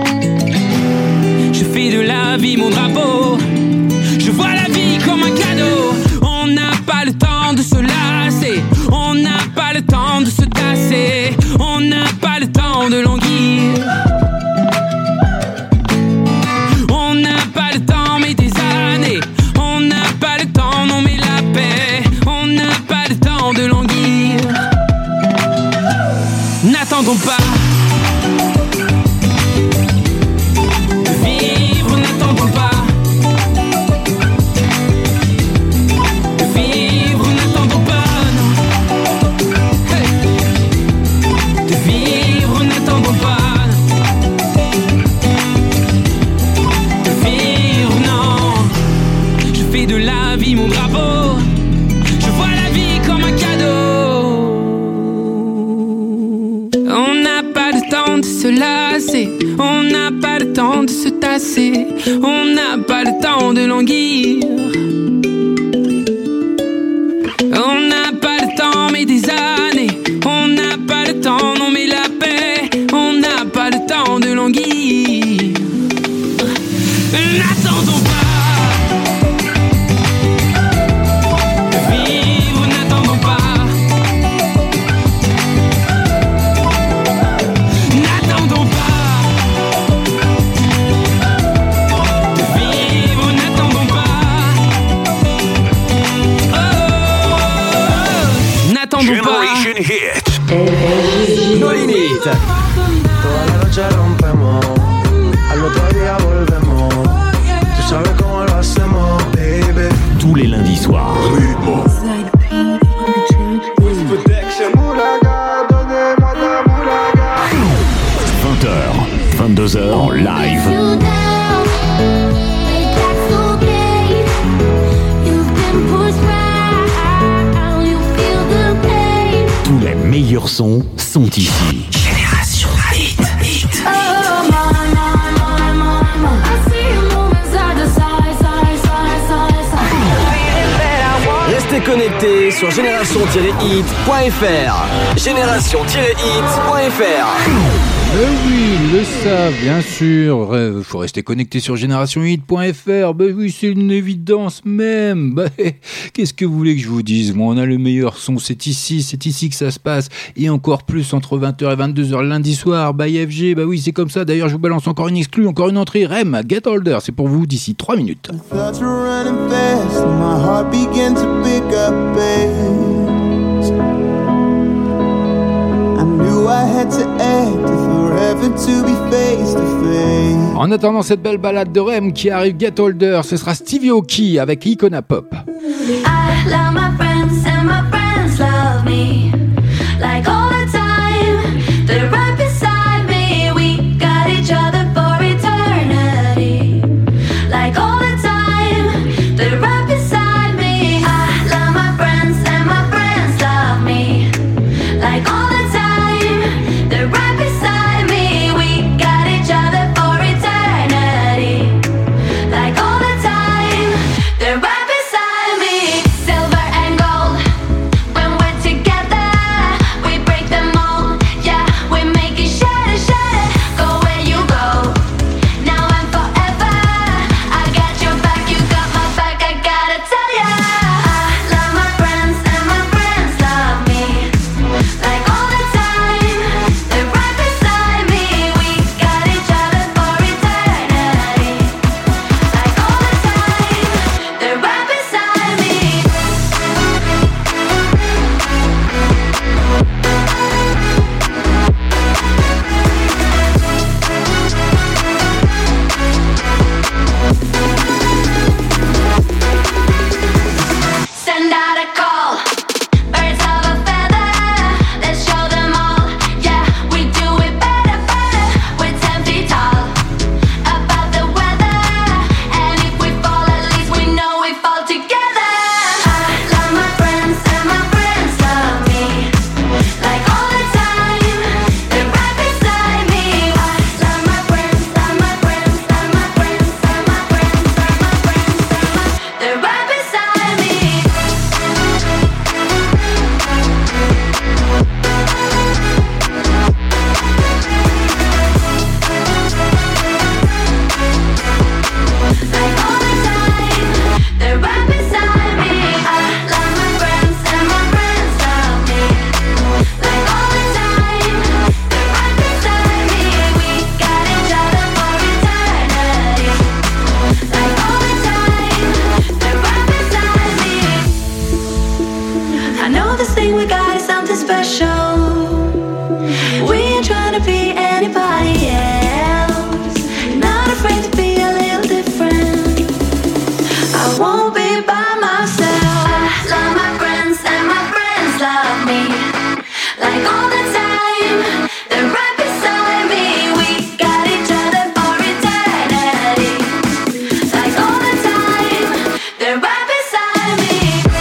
Je fais de la vie mon drapeau. Je vois la vie comme un cadeau. On n'a pas le temps de se lasser. On n'a pas le temps de se tasser. On n'a pas le temps de languir. On n'a pas le temps mais des années. On n'a pas le temps, non mais la paix. On n'a pas le temps de languir. N'attendons pas de vivre, n'attendons pas de vivre, n'attendons pas, non. Hey. De vivre, n'attendons pas de vivre, non. Je fais de la vie mon drapeau. Je vois la vie comme un cadeau. On n'a pas le temps de se lasser. On n'a pas le temps de se tasser. On n'a pas le temps de languir. On n'a pas le temps mais des années. On n'a pas le temps, non mais la paix. On n'a pas le temps de languir. N'attendons pas de vivre, n'attendons pas. N'attendons pas de vivre, n'attendons pas. Toda la noche rompemos, al otro día volvemos. Tú sabes cómo lo hacemos, baby. Tous les lundis soirs. vingt heures, vingt-deux heures en live. Tous les meilleurs sons sont ici. Génération Hit, Hit. Restez connectés sur génération tiret hit point f r. génération tiret hit point f r. Euh oui, ils le savent, bien sûr. Il faut rester connecté sur génération hit point f r. Bah oui, c'est une évidence même. Bah, qu'est-ce que vous voulez que je vous dise? Moi, on a le meilleur son, c'est ici, c'est ici que ça se passe. Et encore plus entre vingt heures et vingt-deux heures lundi soir, by F G. Bah oui, c'est comme ça. D'ailleurs, je vous balance encore une exclue, encore une entrée. Rem, Get Older, c'est pour vous d'ici trois minutes. Thoughts were running fast and my heart began to pick up pace. I knew I had to act if forever to be face to face. En attendant cette belle balade de Rem qui arrive, Get Older, ce sera Stevie Aoki avec Icona Pop. I love my friends and my friends love me. Like all the time, they're right beside me. We got each other for eternity. Like all the time, they're right beside me. I love my friends and my friends love me. Like all the time, they're right beside me. We got each other for eternity. Like all the time, they're right beside me. Silver and gold, when we're together, we break them all. Yeah, we make it shatter, shatter. Go where you go, now and forever. I got your back, you got my back. I gotta tell ya, I love my friends and my friends love me. Like all the time, they're right beside me. We got each other for eternity. Like all the time, they're right beside me. Send out a call, birds of a feather. Let's show them all. Yeah, we do it better, better. We're ten feet tall, above the weather. And if we fall, at least we know we fall together. I love my friends and my friends love me. Like all the time, they're right beside me. I love my friends, love my friends, love my friends, love my friends, love my friends, love my. They're right beside me. Like all the time, they're right beside me. I love my friends and my friends love me. Like all the time, they're right beside me. We got each other for eternity. Like all the time, they're right beside me. I know this thing we got is something special. We ain't trying to be anybody else. Not afraid to be a little different. I won't be by myself. I love my friends and my friends love me. Like all the time, they're right beside me. We got each other for eternity. Like all the time, they're right beside me.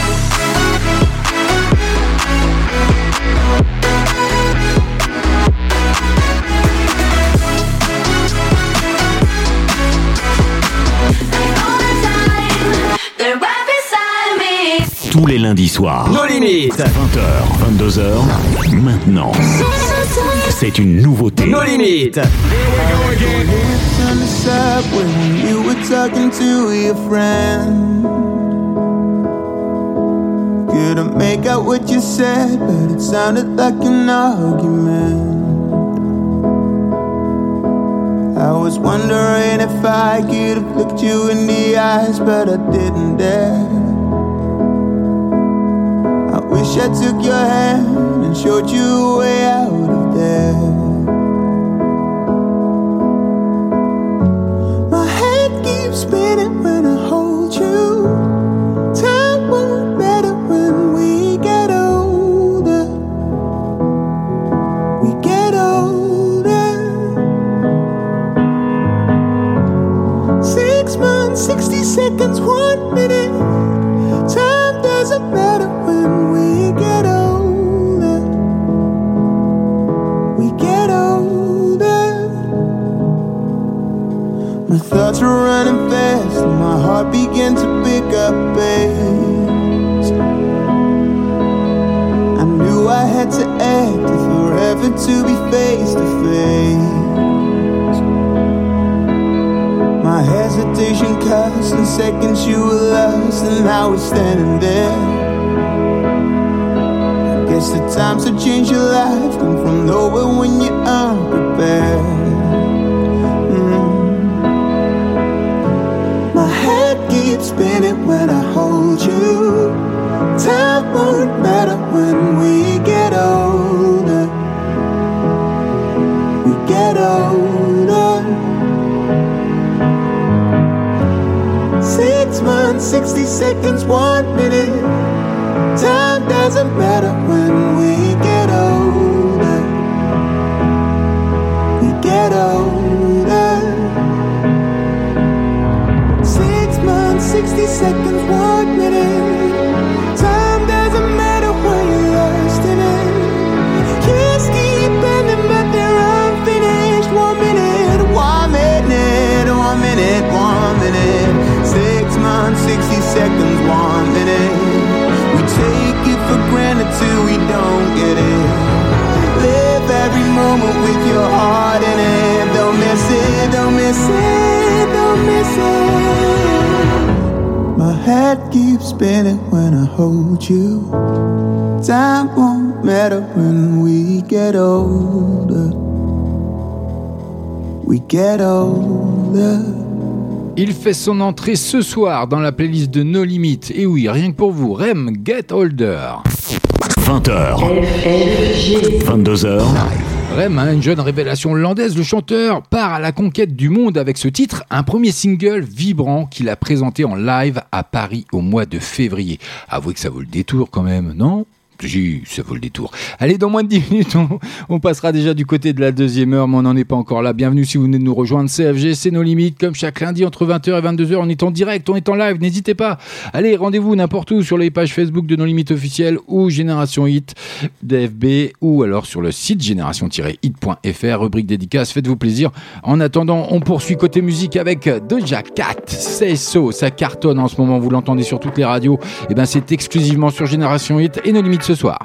Like all the time, they're right beside me. Tous les lundis soirs. Nos limites. vingt heures, vingt-deux heures. Maintenant. C'est une nouveauté. Nos limites. On the subway when you were talking to your friend. Couldn't make out what you said, but it sounded like an argument. I was wondering if I could have looked you in the eyes, but I didn't dare. I wish I took your hand and showed you a way out of there. My thoughts were running fast and my heart began to pick up pace. I knew I had to act if forever to be face to face. My hesitation cost in seconds you were lost and I was standing there. Guess the times that change your life come from nowhere when you're unprepared. My head keeps spinning when I hold you. Time won't matter when we get older. We get older. Six months, sixty seconds, one minute. Time doesn't matter when we get older. We get older. sixty seconds, one minute. Time doesn't matter when you're lost in it. Years keep ending but they're unfinished. One minute, one minute, one minute, one minute. Six months, sixty seconds, one minute. We take it for granted till we don't get it. Live every moment with your heart in it. Don't miss it, don't miss it, don't miss it. My head keeps spinning when I hold you. Time won't matter when we get older. We get older. Il fait son entrée ce soir dans la playlist de No Limit. Et oui, rien que pour vous, Rem, Get Older. vingt heures. vingt-deux heures. Rem, hein, une jeune révélation hollandaise, le chanteur part à la conquête du monde avec ce titre, un premier single vibrant qu'il a présenté en live à Paris au mois de février. Avouez que ça vaut le détour quand même, non ? Si, ça vaut le détour. Allez, dans moins de dix minutes, on, on passera déjà du côté de la deuxième heure, mais on n'en est pas encore là. Bienvenue si vous venez de nous rejoindre. C F G, c'est nos limites. Comme chaque lundi, entre vingt heures et vingt-deux heures, on est en direct, on est en live. N'hésitez pas. Allez, rendez-vous n'importe où sur les pages Facebook de Nos Limites officielles ou Génération Hit D F B ou alors sur le site génération tiret hit point f r, rubrique dédicace. Faites-vous plaisir. En attendant, on poursuit côté musique avec Doja Cat. Say So, ça cartonne en ce moment. Vous l'entendez sur toutes les radios. Et ben, c'est exclusivement sur Génération Hit et Nos Limites ce soir.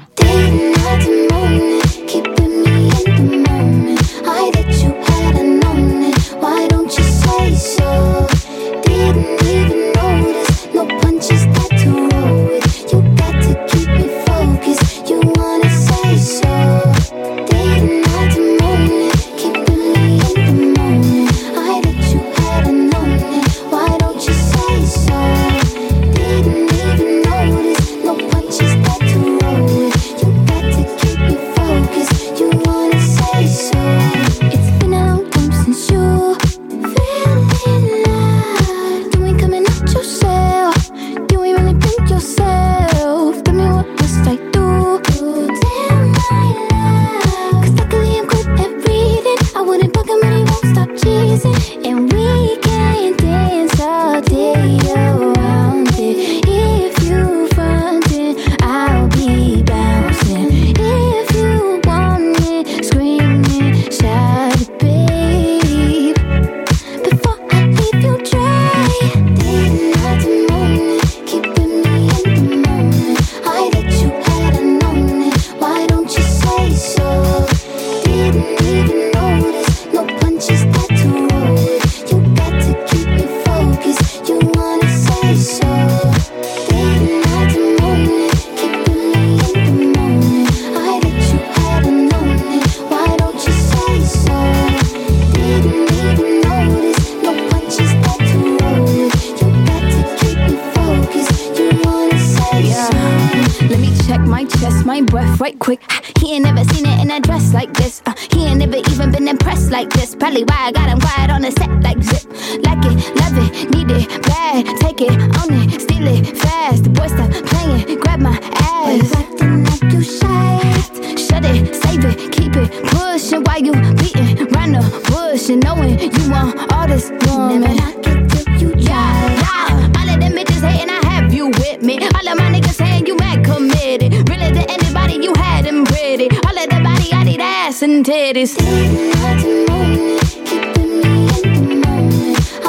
And titties.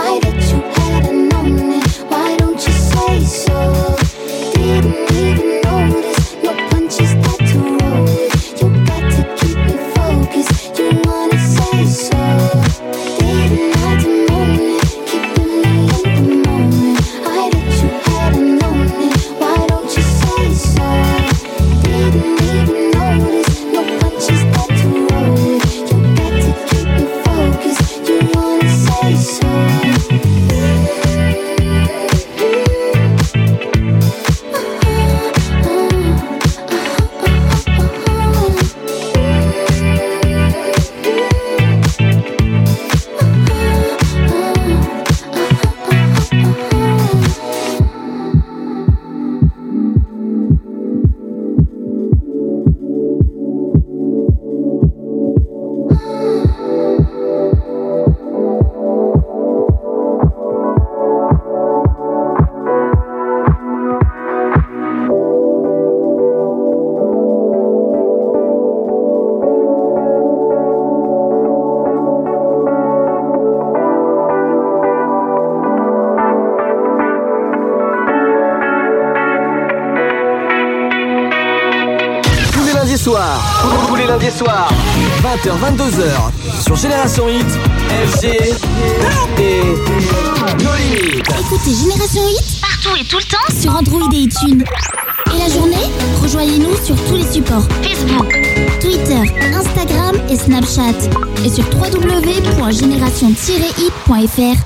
lundis soirs, vingt heures vingt-deux heures, sur Génération Hit, F G et No Limites. Écoutez Génération Hit partout et tout le temps sur Android et iTunes. Et la journée, rejoignez-nous sur tous les supports Facebook, Twitter, Instagram et Snapchat. Et sur w w w point génération tiret hit point f r.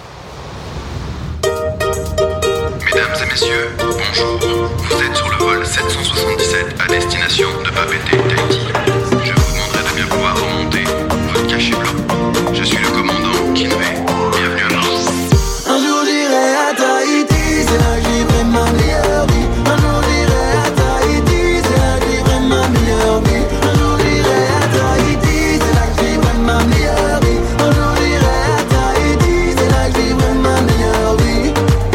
Mesdames et messieurs, bonjour. Vous êtes sur le vol sept cent soixante-dix-sept à destination de Papeete, Tahiti. Je vous demanderai de bien vouloir remonter votre cachet blanc. Je suis le commandant Kinvey. Bienvenue à bord. Un jour j'irai à Tahiti, c'est là que j'y ferai ma meilleure vie. Un jour j'irai à Tahiti, c'est là que j'y ferai ma meilleure vie. Un jour j'irai à Tahiti, c'est là que j'y ferai ma meilleure vie. Un jour j'irai à Tahiti, c'est là que j'y ferai ma meilleure vie.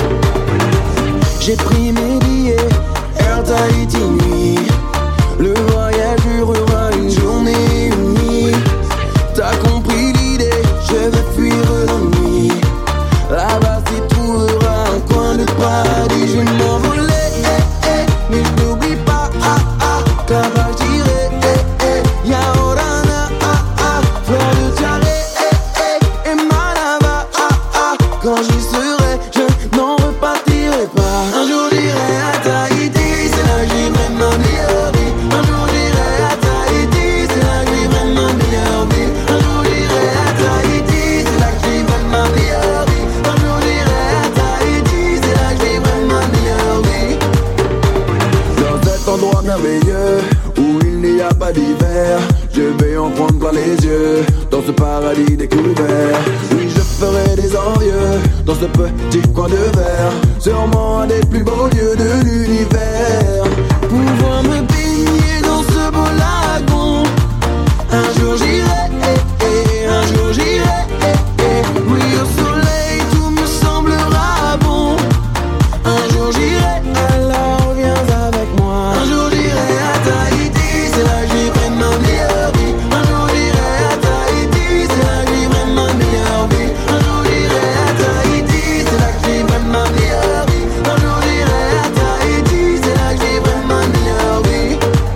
J'ai pris mes billets, Air Tahiti nuit. Le voyage durera une journée et une nuit. T'as compris l'idée, je vais fuir l'ennui. Là-bas c'est trouvera un coin de paradis. Je vais m'envoler, eh, eh, mais je n'oublie pas, ah, ah, que là-bas j'irai, eh, eh. Y'a Orana, ah, ah, fleur de tiare, eh, eh, et Malava, ah, ah. Quand j'y serai, je n'en repartirai pas. Un jour j'irai à Tahiti, c'est là que j'y ferai ma meilleure vie. Un jour j'irai à Tahiti, c'est là que j'y ferai ma meilleure vie. Un jour j'irai à Tahiti, c'est là que j'y ferai ma meilleure vie. Un jour j'irai à Tahiti, c'est là que j'y ferai ma meilleure vie. Dans cet endroit merveilleux où il n'y a pas d'hiver, je vais en prendre plein les yeux. Dans ce paradis découvert, oui je ferai des envieux. Dans ce petit coin de verre, sûrement un des plus beaux lieux de l'univers. Pouvoir me baigner dans ce beau lagon. Un jour j'irai, eh, eh, un jour j'irai, eh, eh. Oui au soleil tout me semblera bon. Un jour j'irai, alors viens avec moi. Un jour j'irai à Tahiti, c'est là que j'y ferai ma meilleure vie. Un jour j'irai à Tahiti, c'est là que j'y ferai ma meilleure vie. Un jour j'irai à Tahiti, c'est là que j'y ferai ma meilleure vie. Un jour j'irai à Tahiti, c'est là que j'y ferai ma meilleure vie.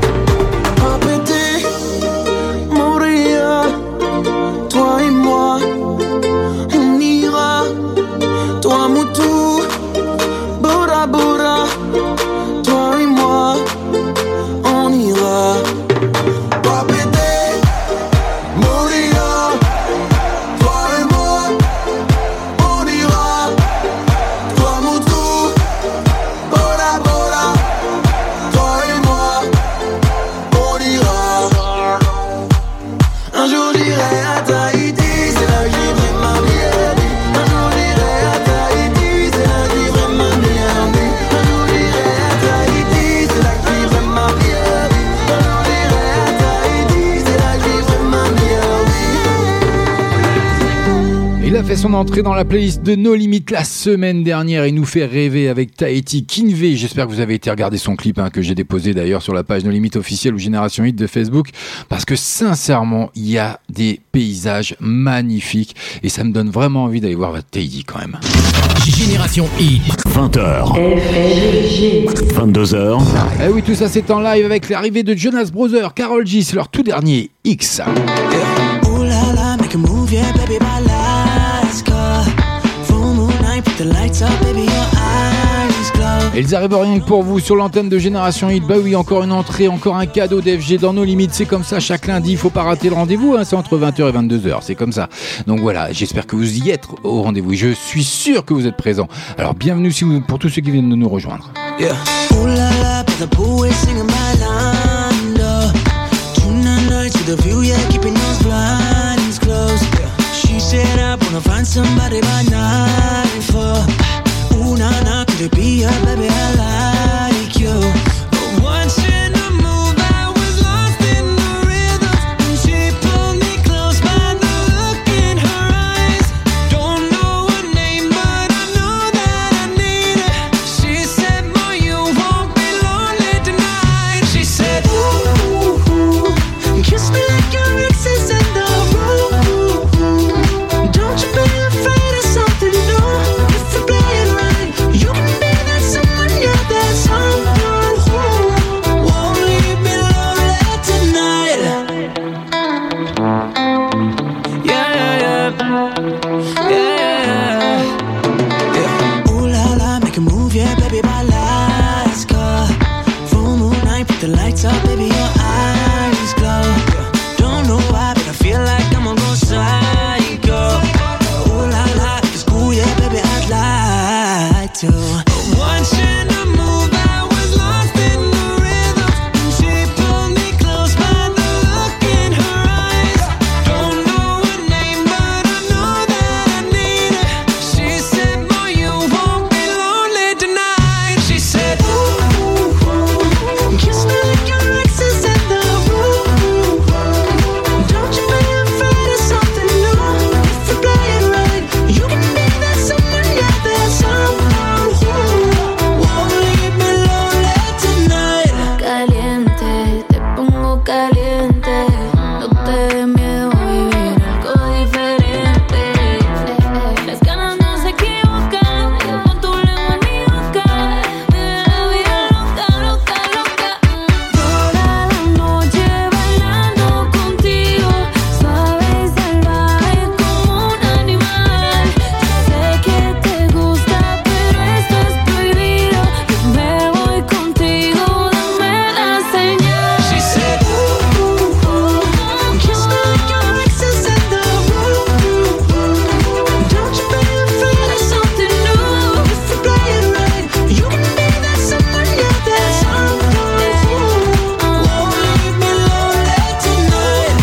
Papeete, Moria, toi et moi, on ira. Toi Moutou, Bora Bora, toi et moi, on ira. Papeete, Moria, toi et moi, on ira. Toi Moutou, Bora Bora, toi et moi, on ira. Un jour j'irai à Tahiti, c'est là que j'y ferai ma meilleure vie. Un jour j'irai à Tahiti, c'est là que j'y ferai ma meilleure vie. Un jour j'irai à Tahiti, c'est là que j'y ferai ma meilleure vie. Un jour j'irai à Tahiti, c'est là que j'y ferai ma meilleure vie. Il a fait son entrée dans la playlist de No Limites la semaine dernière. Il nous fait rêver avec Tahiti, Kinvey. J'espère que vous avez été regarder son clip, hein, que j'ai déposé d'ailleurs sur la page No Limites officielle ou Génération Hit de Facebook. Parce que sincèrement, il y a des paysages magnifiques et ça me donne vraiment envie d'aller voir Tahiti quand même. Génération Hit. vingt heures. vingt-deux heures. Eh oui, tout ça c'est en live avec l'arrivée de Jonas Brothers, Karol G, c'est leur tout dernier X. Ooh la la, make a move, yeah, baby, my lights go. Full moon night, put the lights up, baby, your eyes glow. Et ils arrivent rien que pour vous sur l'antenne de Génération Hit. Bah oui, encore une entrée, encore un cadeau d'F G dans nos limites. C'est comme ça chaque lundi, il faut pas rater le rendez-vous, hein, c'est entre vingt heures et vingt-deux heures, c'est comme ça. Donc voilà, j'espère que vous y êtes au rendez-vous. Je suis sûr que vous êtes présents. Alors bienvenue si vous, pour tous ceux qui viennent de nous rejoindre. Yeah. Ooh la la, but the pool is singing my line, oh. Tonight nights with a view, yeah, keeping those blinds closed. Yeah. She said I wanna find somebody by nine four. Ooh na na, could it be her, baby? I like you. But watching her move, I was lost in the rhythm. And she pulled me close by the look in her eyes. Don't know her name, but I know that I need her. She said, boy, you won't be lonely tonight. She said, ooh, ooh, ooh, kiss me like your ex is in the room. Don't you be afraid of Yeah, yeah. Ooh la la, make a move, yeah, baby, my lights go. Full moon night, put the lights up, baby, your eyes glow. Don't know why, but I feel like I'm gonna go psycho. Ooh la la, it's cool, yeah, baby, I'd like to. Watching the move, I was lost in the rhythm. She pulled me close by the look in her eyes. Don't know her name, but I know that I need her. She said, boy, you won't be lonely tonight. She said, ooh, ooh, kiss me like your ex is in the room. Don't you be afraid of something new. If you play it right, you can be that someone, yeah, that someone who won't leave me lonely tonight. Caliente, te pongo caliente. No te dé miedo vivir algo diferente. Las ganas no se equivocan, con tu lengua ni boca. Vive la vida loca, loca, loca. Toda la noche bailando contigo, suave y salvaje como un animal. Sé que te gusta, pero esto es prohibido. Me voy contigo, dame la señal. She said, ooh, ooh, ooh, kiss me like your ex is in the room. Don't you be afraid of something new. If you play it right, you can be that someone, yeah, that someone who won't leave me lonely tonight.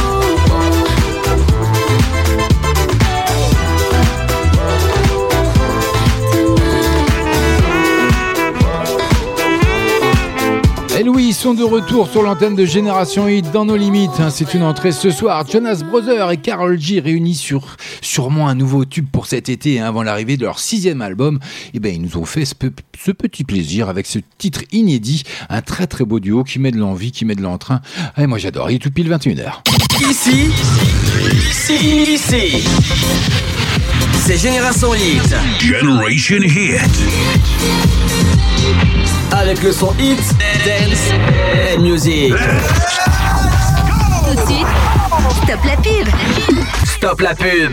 Et Louis, ils sont de retour sur l'antenne de Génération Hit dans nos limites. hein. C'est une entrée ce soir. Jonas Brothers et Karol G réunis sur sûrement un nouveau tube pour cet été hein, avant l'arrivée de leur sixième album. Et ben ils nous ont fait ce, pe- ce petit plaisir avec ce titre inédit, un très très beau duo qui met de l'envie, qui met de l'entrain. Et moi j'adore. Il est tout pile vingt et une heures. Ici, ici, ici, c'est Génération Hit. Generation Hit. Avec le son Hit, Dance and Music. Tout de suite, stop la pub. Stop la pub.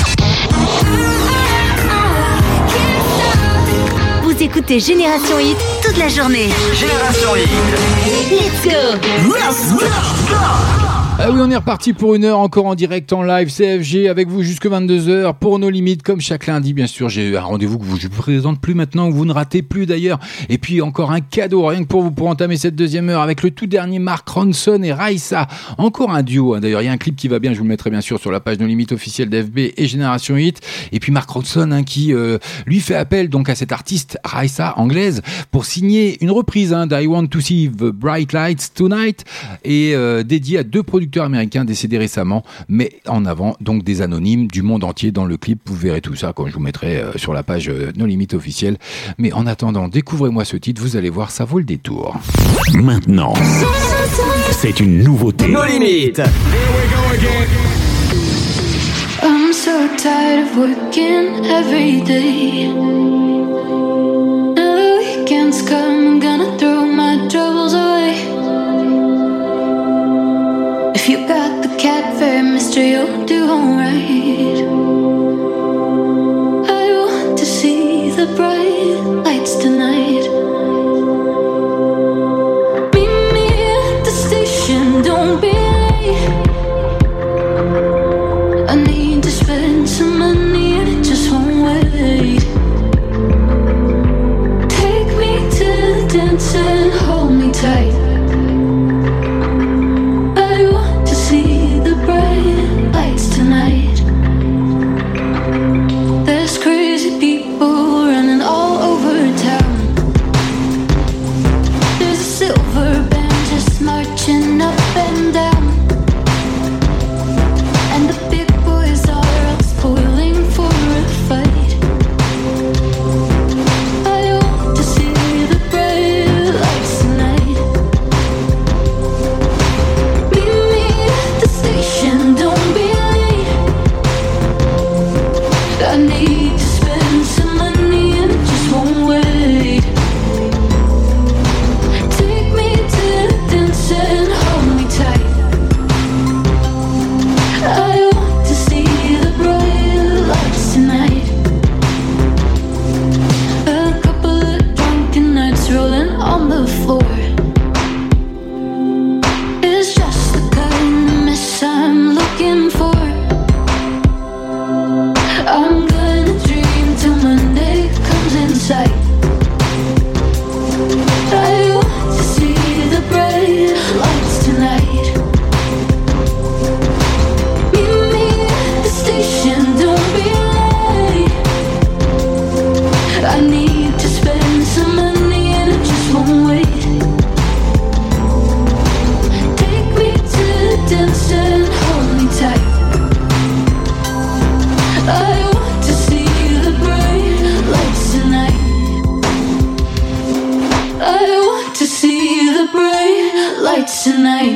Vous écoutez Génération Hit toute la journée. Génération Hit. Let's go. Let's go. Ah oui, on est reparti pour une heure encore en direct en live C F G avec vous jusque vingt-deux heures pour nos limites comme chaque lundi bien sûr. J'ai un rendez-vous que je vous présente plus maintenant, que vous ne ratez plus d'ailleurs. Et puis encore un cadeau rien que pour vous pour entamer cette deuxième heure avec le tout dernier Mark Ronson et Raissa. Encore un duo hein. D'ailleurs il y a un clip qui va bien, je vous le mettrai bien sûr sur la page nos limites officielle d'F B et Génération Hit. Et puis Mark Ronson hein, qui euh, lui fait appel donc à cette artiste Raissa anglaise pour signer une reprise hein, d'I Want to See the Bright Lights Tonight et euh, dédiée à deux producteurs américains décédés récemment, mais en avant donc des anonymes du monde entier dans le clip. Vous verrez tout ça quand je vous mettrai euh, sur la page euh, nos limites officielles. Mais en attendant, découvrez-moi ce titre, vous allez voir, ça vaut le détour. Maintenant, c'est une nouveauté. Nos limites. I'm so tired of working every day. Now the weekends come, I'm gonna throw my troubles away. If you got the cat fare, mister, you'll do alright. I want to see the bright lights tonight. Meet me at the station, don't be late. I need to spend some money and it just won't wait. Take me to the dance and hold me tight. Tonight, there's crazy people running all over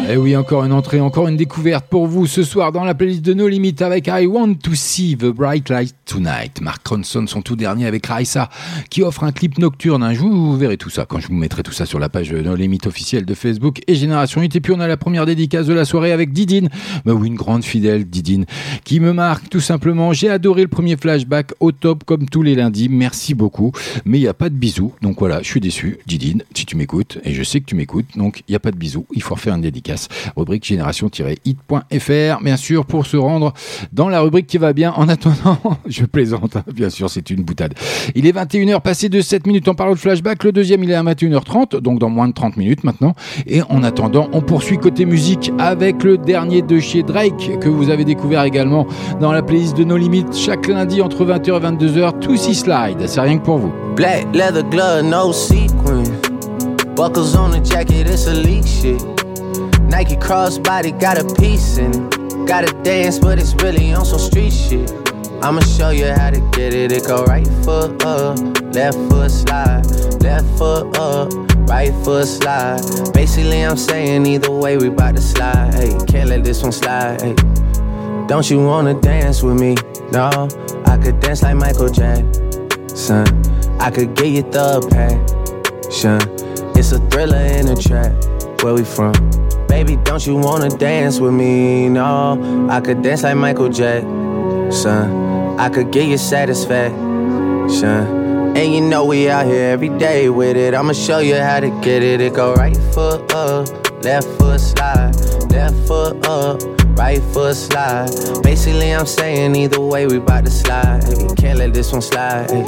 Et oui, encore une entrée, encore une découverte pour vous ce soir dans la playlist de No Limit avec I Want to See the Bright Light Tonight. Mark Ronson, son tout dernier avec Raissa, qui offre un clip nocturne. Un jour, vous verrez tout ça quand je vous mettrai tout ça sur la page No Limit officielle de Facebook et Génération huit. Et puis on a la première dédicace de la soirée avec Didine. Bah oui, une grande fidèle Didine qui me marque tout simplement. J'ai adoré le premier flashback au top comme tous les lundis. Merci beaucoup. Mais il n'y a pas de bisous. Donc voilà, je suis déçu. Didine, si tu m'écoutes, et je sais que tu m'écoutes, donc il n'y a pas de bisous. Il faut refaire une dédicace. Rubrique génération-hit point f r, bien sûr, pour se rendre dans la rubrique qui va bien. En attendant, je plaisante, hein, bien sûr, c'est une boutade. Il est vingt et une heures passées de sept minutes en parlant de flashback. Le deuxième, il est à vingt et une heures trente, donc dans moins de trente minutes maintenant. Et en attendant, on poursuit côté musique avec le dernier de chez Drake, que vous avez découvert également dans la playlist de No Limit chaque lundi entre vingt heures et vingt-deux heures. Tootsie Slide, c'est rien que pour vous. Black leather glove, no sequin. Buckles on the jacket, it's elite shit. Nike crossbody got a piece in it. Gotta dance, but it's really on some street shit. I'ma show you how to get it. It go right foot up, left foot slide, left foot up, right foot slide. Basically, I'm saying either way we bout to slide. Hey, can't let this one slide. Hey. Don't you wanna dance with me? No, I could dance like Michael Jackson. I could get you the passion. It's a thriller in a trap. Where we from? Baby, don't you wanna dance with me? No, I could dance like Michael Jackson. I could get you satisfaction. And you know we out here every day with it. I'ma show you how to get it. It go right foot up, left foot slide, left foot up, right foot slide. Basically, I'm saying either way we bout to slide. Hey, can't let this one slide. Hey.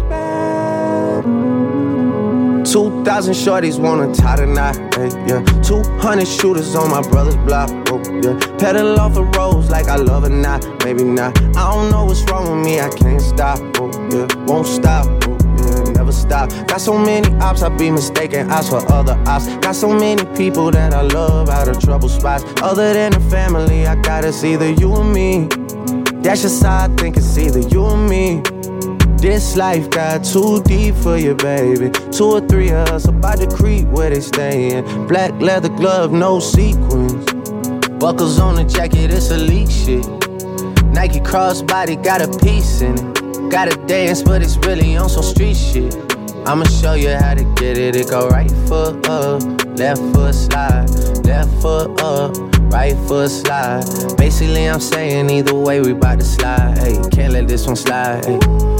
Two thousand shorties wanna tie the knot, hey, yeah. Two hundred shooters on my brother's block, oh, yeah. Pedal off the roads like I love it, not, maybe not. I don't know what's wrong with me, I can't stop, oh, yeah. Won't stop, oh, yeah, never stop. Got so many ops, I be mistaken ops for other ops. Got so many people that I love out of trouble spots. Other than the family, I got it's either you or me. That's just how I think it's either you or me. This life got too deep for you, baby. Two or three of us about to creep where they stayin'. Black leather glove, no sequins. Buckles on the jacket, it's elite shit. Nike crossbody got a piece in it. Gotta dance, but it's really on some street shit. I'ma show you how to get it. It go right foot up, left foot slide, left foot up, right foot slide. Basically, I'm saying either way we bout to slide. Hey, can't let this one slide. Hey.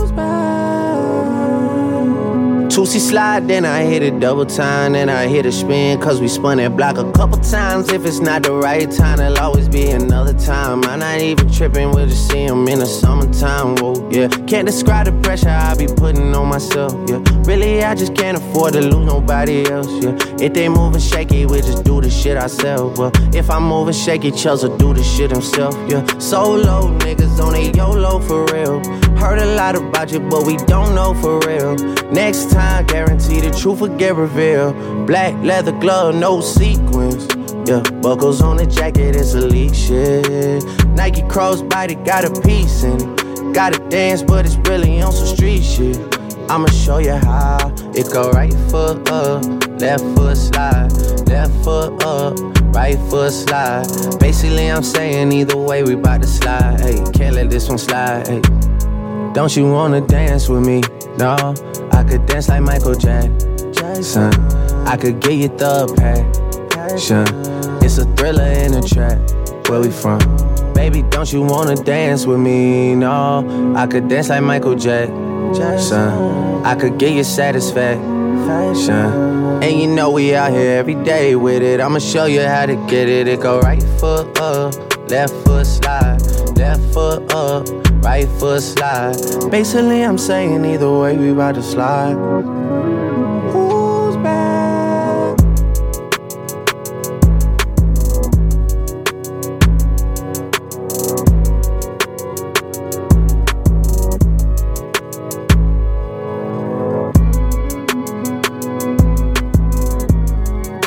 Tootsie slide, then I hit it double time, then I hit a spin, cause we spun that block a couple times. If it's not the right time, there'll always be another time. I'm not even tripping, we'll just see him in the summertime, whoa, yeah. Can't describe the pressure I be putting on myself, yeah. Really, I just can't afford to lose nobody else, yeah. If they moving shaky, we just do the shit ourselves, well. If I'm moving shaky, Chelsea do the shit himself, yeah. Solo niggas on a YOLO for real. Heard a lot about you, but we don't know for real. Next time, guarantee the truth will get revealed. Black leather glove, no sequins. Yeah, buckles on the jacket, it's elite shit. Nike crossbody got a piece in it. Gotta dance, but it's really on some street shit. I'ma show you how. It go right foot up, left foot slide, left foot up, right foot slide. Basically, I'm saying either way we bout to slide. Hey, can't let this one slide. Hey. Don't you wanna dance with me? No, I could dance like Michael Jackson. I could get you the passion. It's a thriller in a trap. Where we from? Baby, don't you wanna dance with me? No, I could dance like Michael Jackson. I could get you satisfaction. And you know we out here every day with it. I'ma show you how to get it. It go right foot up, left foot slide, left foot up, right foot slide. Basically, I'm saying either way we bout to slide. Who's back?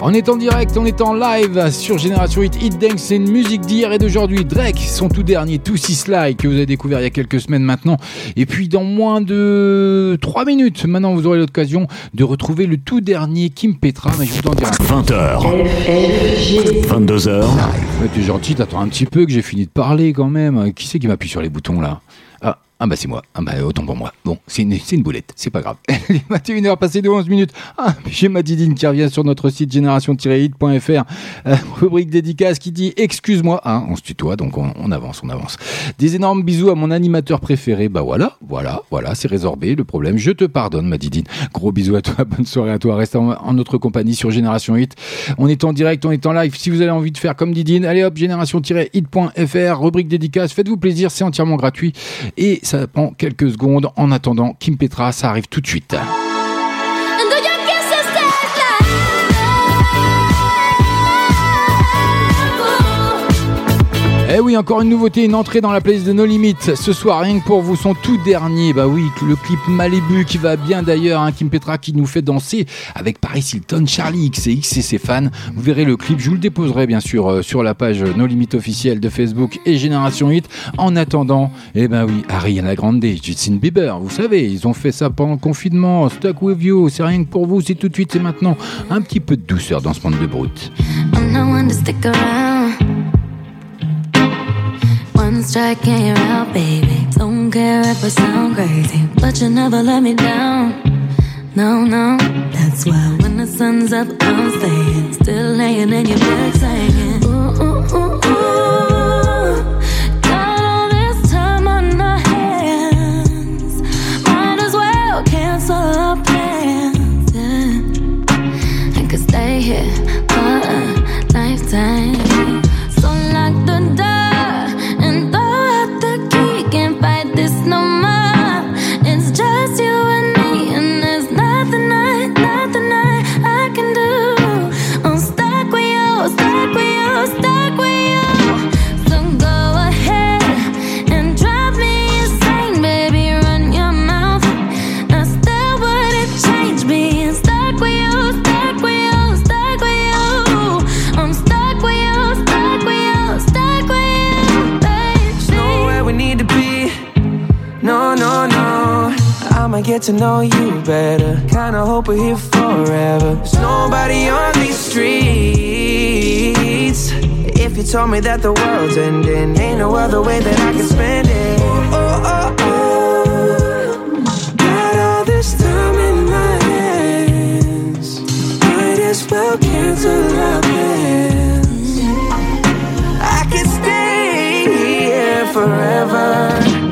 On est en direct, on est en live sur Génération Hit, Hit Dance, c'est une musique d'hier et d'aujourd'hui. Drake, son tout dernier, Two Six Slide, que vous avez découvert il y a quelques semaines maintenant. Et puis dans moins de trois minutes, maintenant vous aurez l'occasion de retrouver le tout dernier Kim Petra, mais je vous en dirai. vingt heures, vingt-deux heures. Ouais, t'es gentil, t'attends un petit peu que j'ai fini de parler quand même. Qui c'est qui m'appuie sur les boutons là? Ah. Ah bah c'est moi, ah bah autant pour moi. Bon, c'est une, c'est une boulette, c'est pas grave. Il est vingt et une heures passées de onze minutes. Ah, j'ai ma Didine qui revient sur notre site génération tiret hit point f r. Euh, rubrique dédicace qui dit excuse-moi. Hein, on se tutoie, donc on, on avance, on avance. Des énormes bisous à mon animateur préféré. Bah voilà, voilà, voilà, c'est résorbé le problème. Je te pardonne ma Didine. Gros bisous à toi, bonne soirée à toi. Reste en, en notre compagnie sur Génération Hit. On est en direct, on est en live. Si vous avez envie de faire comme Didine, allez hop, génération tiret hit point f r, rubrique dédicace. Faites-vous plaisir, c'est entièrement gratuit. Et ça prend quelques secondes. En attendant, Kim Petra, ça arrive tout de suite. Eh oui, encore une nouveauté, une entrée dans la playlist de No Limit. Ce soir, rien que pour vous, son tout dernier. Bah oui, le clip Malibu qui va bien d'ailleurs. Hein, Kim Petra qui nous fait danser avec Paris Hilton, Charlie X C X et ses fans. Vous verrez le clip, je vous le déposerai bien sûr euh, sur la page No Limit officielle de Facebook et Génération Hit. En attendant, eh ben oui, Ariana Grande, Justin Bieber, vous savez, ils ont fait ça pendant le confinement. Stuck with you, c'est rien que pour vous, c'est tout de suite, c'est maintenant. Un petit peu de douceur dans ce monde de brut. I'm no one to stick around. One strike and you're out, baby. Don't care if I sound crazy, but you never let me down. No, no, that's why when the sun's up, I'm staying. Still laying in your bed singing. Ooh, ooh, ooh, ooh. Got all this time on our hands. Might as well cancel our plans, yeah. I could stay here for a lifetime. So lock the door. Get to know you better. Kinda hope we're here forever. There's nobody on these streets. If you told me that the world's ending, ain't no other way that I can spend it. Oh, oh, oh, oh. Got all this time in my hands. Might as well cancel our plans. I could stay here forever.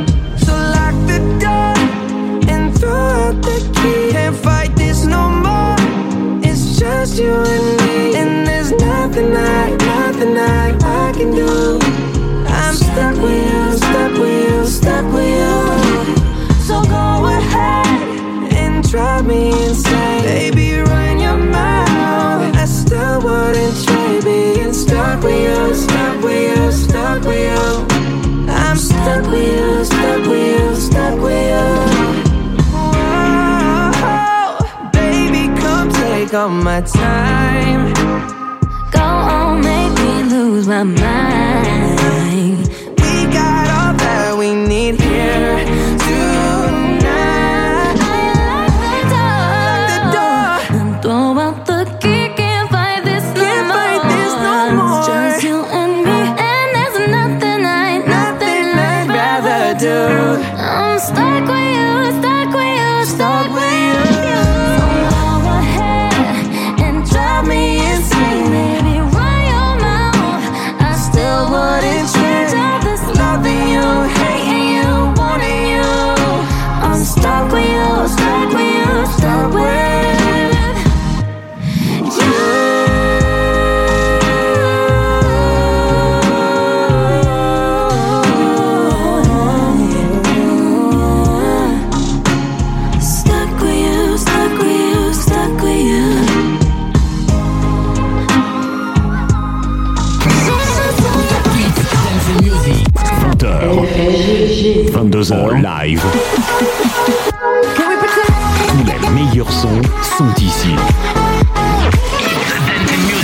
Can't fight this no more. It's just you and me, and there's nothing I, nothing I, I can do. I'm stuck with you, stuck with you, stuck with you. So go ahead and drive me insane, baby. Run your mouth. I still wouldn't trade being stuck with you, stuck with you, stuck with you. I'm stuck with you, stuck with you, stuck with you. Take all my time. Go on, make me lose my mind. We got all that we need here tonight. Lock the door and throw out the key. Can't fight this no Can't more. Fight this no more. It's just you and me, and there's nothing I, nothing I'd rather do. I'm stuck with you, stuck with you, stuck with you. Stuck with you, stuck with you, stuck with you. Stuck with you, stuck with you, stuck with you. vingt heures, vingt-deux heures live. Tous les meilleurs sons sont ici.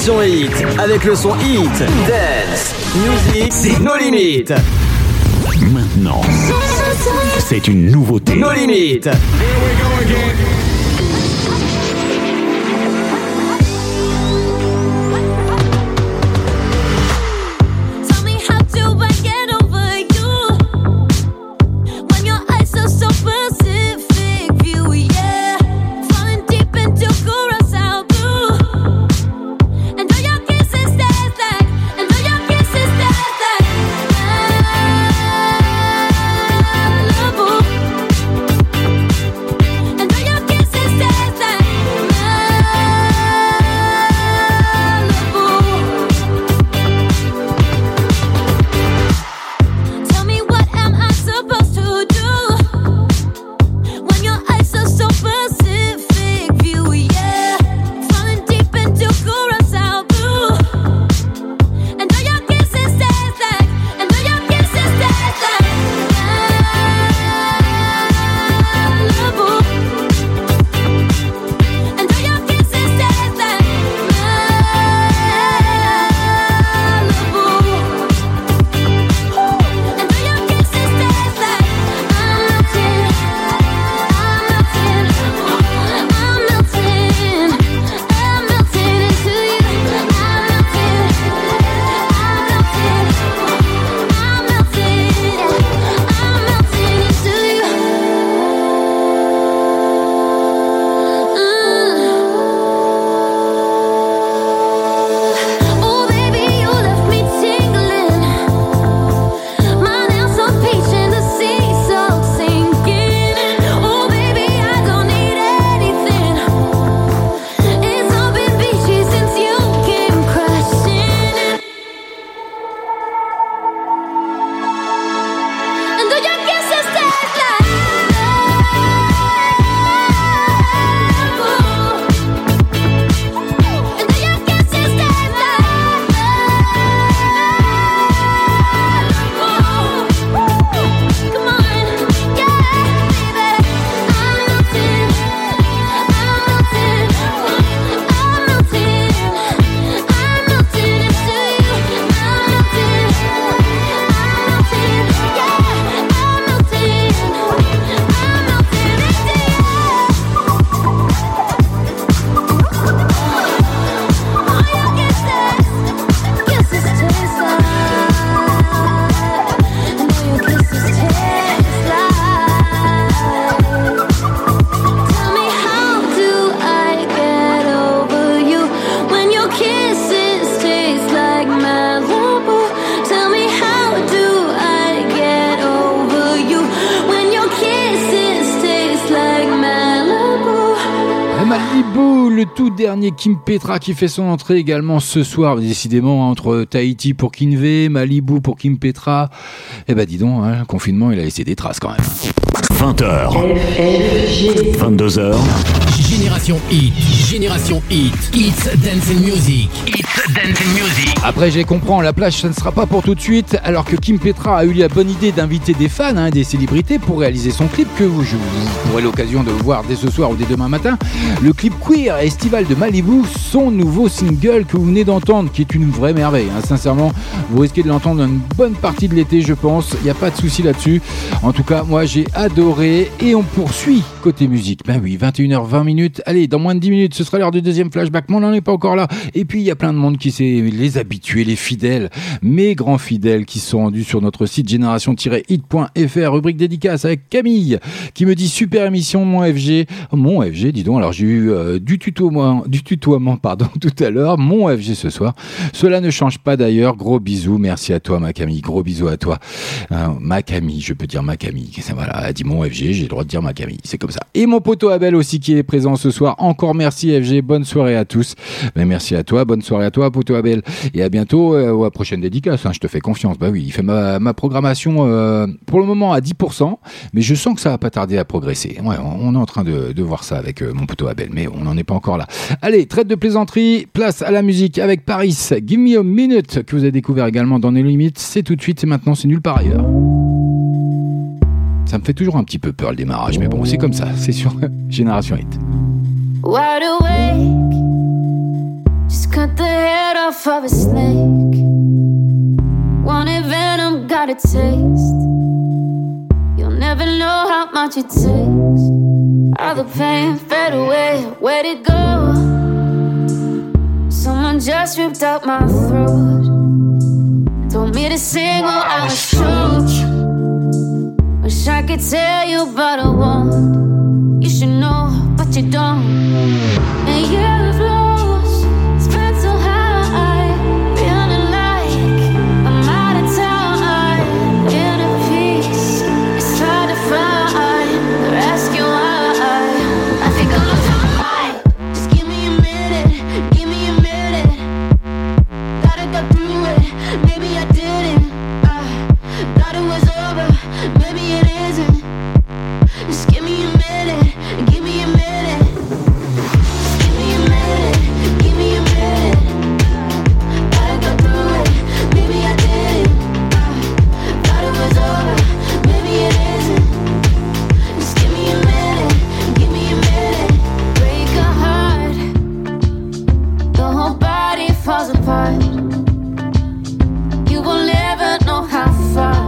Génération Hit, avec le son Hit, Dance, Music, c'est nos limites. Maintenant, c'est une nouveauté. Nos limites. Dernier Kim Petra qui fait son entrée également ce soir, décidément entre Tahiti pour Kinvey, Malibu pour Kim Petra. Eh ben dis donc, hein, le confinement il a laissé des traces quand même. vingt heures, vingt-deux heures. Génération Hit, Génération Hit, It's Dance and Music, It's Dance and Music. Après, je les comprends, la plage, ça ne sera pas pour tout de suite, alors que Kim Petra a eu la bonne idée d'inviter des fans, hein, des célébrités, pour réaliser son clip que vous, je, vous aurez l'occasion de voir dès ce soir ou dès demain matin. Le clip Queer estival de Malibu, son nouveau single que vous venez d'entendre, qui est une vraie merveille. Hein. Sincèrement, vous risquez de l'entendre une bonne partie de l'été, je pense. Il n'y a pas de souci là-dessus. En tout cas, moi, j'ai adoré. Et on poursuit côté musique. Ben oui, vingt et une heures vingt minutes. Allez, dans moins de dix minutes, ce sera l'heure du deuxième flashback. Mais on n'en est pas encore là. Et puis, il y a plein de monde qui s'est, les habitués, les fidèles, mes grands fidèles qui se sont rendus sur notre site génération tiret hit point f r, rubrique dédicace avec Camille, qui me dit super émission, mon F G. Mon F G, dis donc. Alors, j'ai eu euh, du tutoiement, du tutoiement, pardon, tout à l'heure. Mon F G ce soir. Cela ne change pas d'ailleurs. Gros bisous. Merci à toi, ma Camille. Gros bisous à toi. Euh, ma Camille, je peux dire ma Camille. Voilà, elle dit mon F G, j'ai le droit de dire ma Camille. C'est comme ça. Et mon poteau Abel aussi qui est présent ce soir. Encore merci F G. Bonne soirée à tous. Mais merci à toi. Bonne soirée à toi, poteau Abel. Et à bientôt, euh, ou à prochaine dédicace. Hein, je te fais confiance. Bah oui, il fait ma, ma programmation euh, pour le moment à dix pour cent. Mais je sens que ça va pas tarder à progresser. Ouais, on est en train de, de voir ça avec euh, mon poteau Abel. Mais on n'en est pas encore là. Allez, traite de plaisanterie. Place à la musique avec Paris. Give me a minute que vous avez découvert également dans les limites. C'est tout de suite. C'est maintenant. C'est nulle part ailleurs. Ça me fait toujours un petit peu peur le démarrage, mais bon, c'est comme ça, c'est sur Génération Hit. Wide awake, Just cut the head off of a snake. Wanted venom, got a taste. You'll never know how much it takes. All the pain fade away, where'd it go? Someone just ripped out my throat. Told me to sing while I was choked. Wish I could tell you, but I won't. You should know, but you don't. And you've lost, spent so high, feeling like I'm out of time. Inner peace, it's hard to find. They're asking why. I think I'm losing my mind. Just give me a minute, give me a minute. Gotta go through it, maybe I didn't. I thought it was over, maybe it isn't. Just give me a minute, give me a minute. Just give me a minute, give me a minute. Gotta go through it, maybe I didn't. I thought it was over, maybe it isn't. Just give me a minute, give me a minute. Break a heart, the whole body falls apart. You will never know how far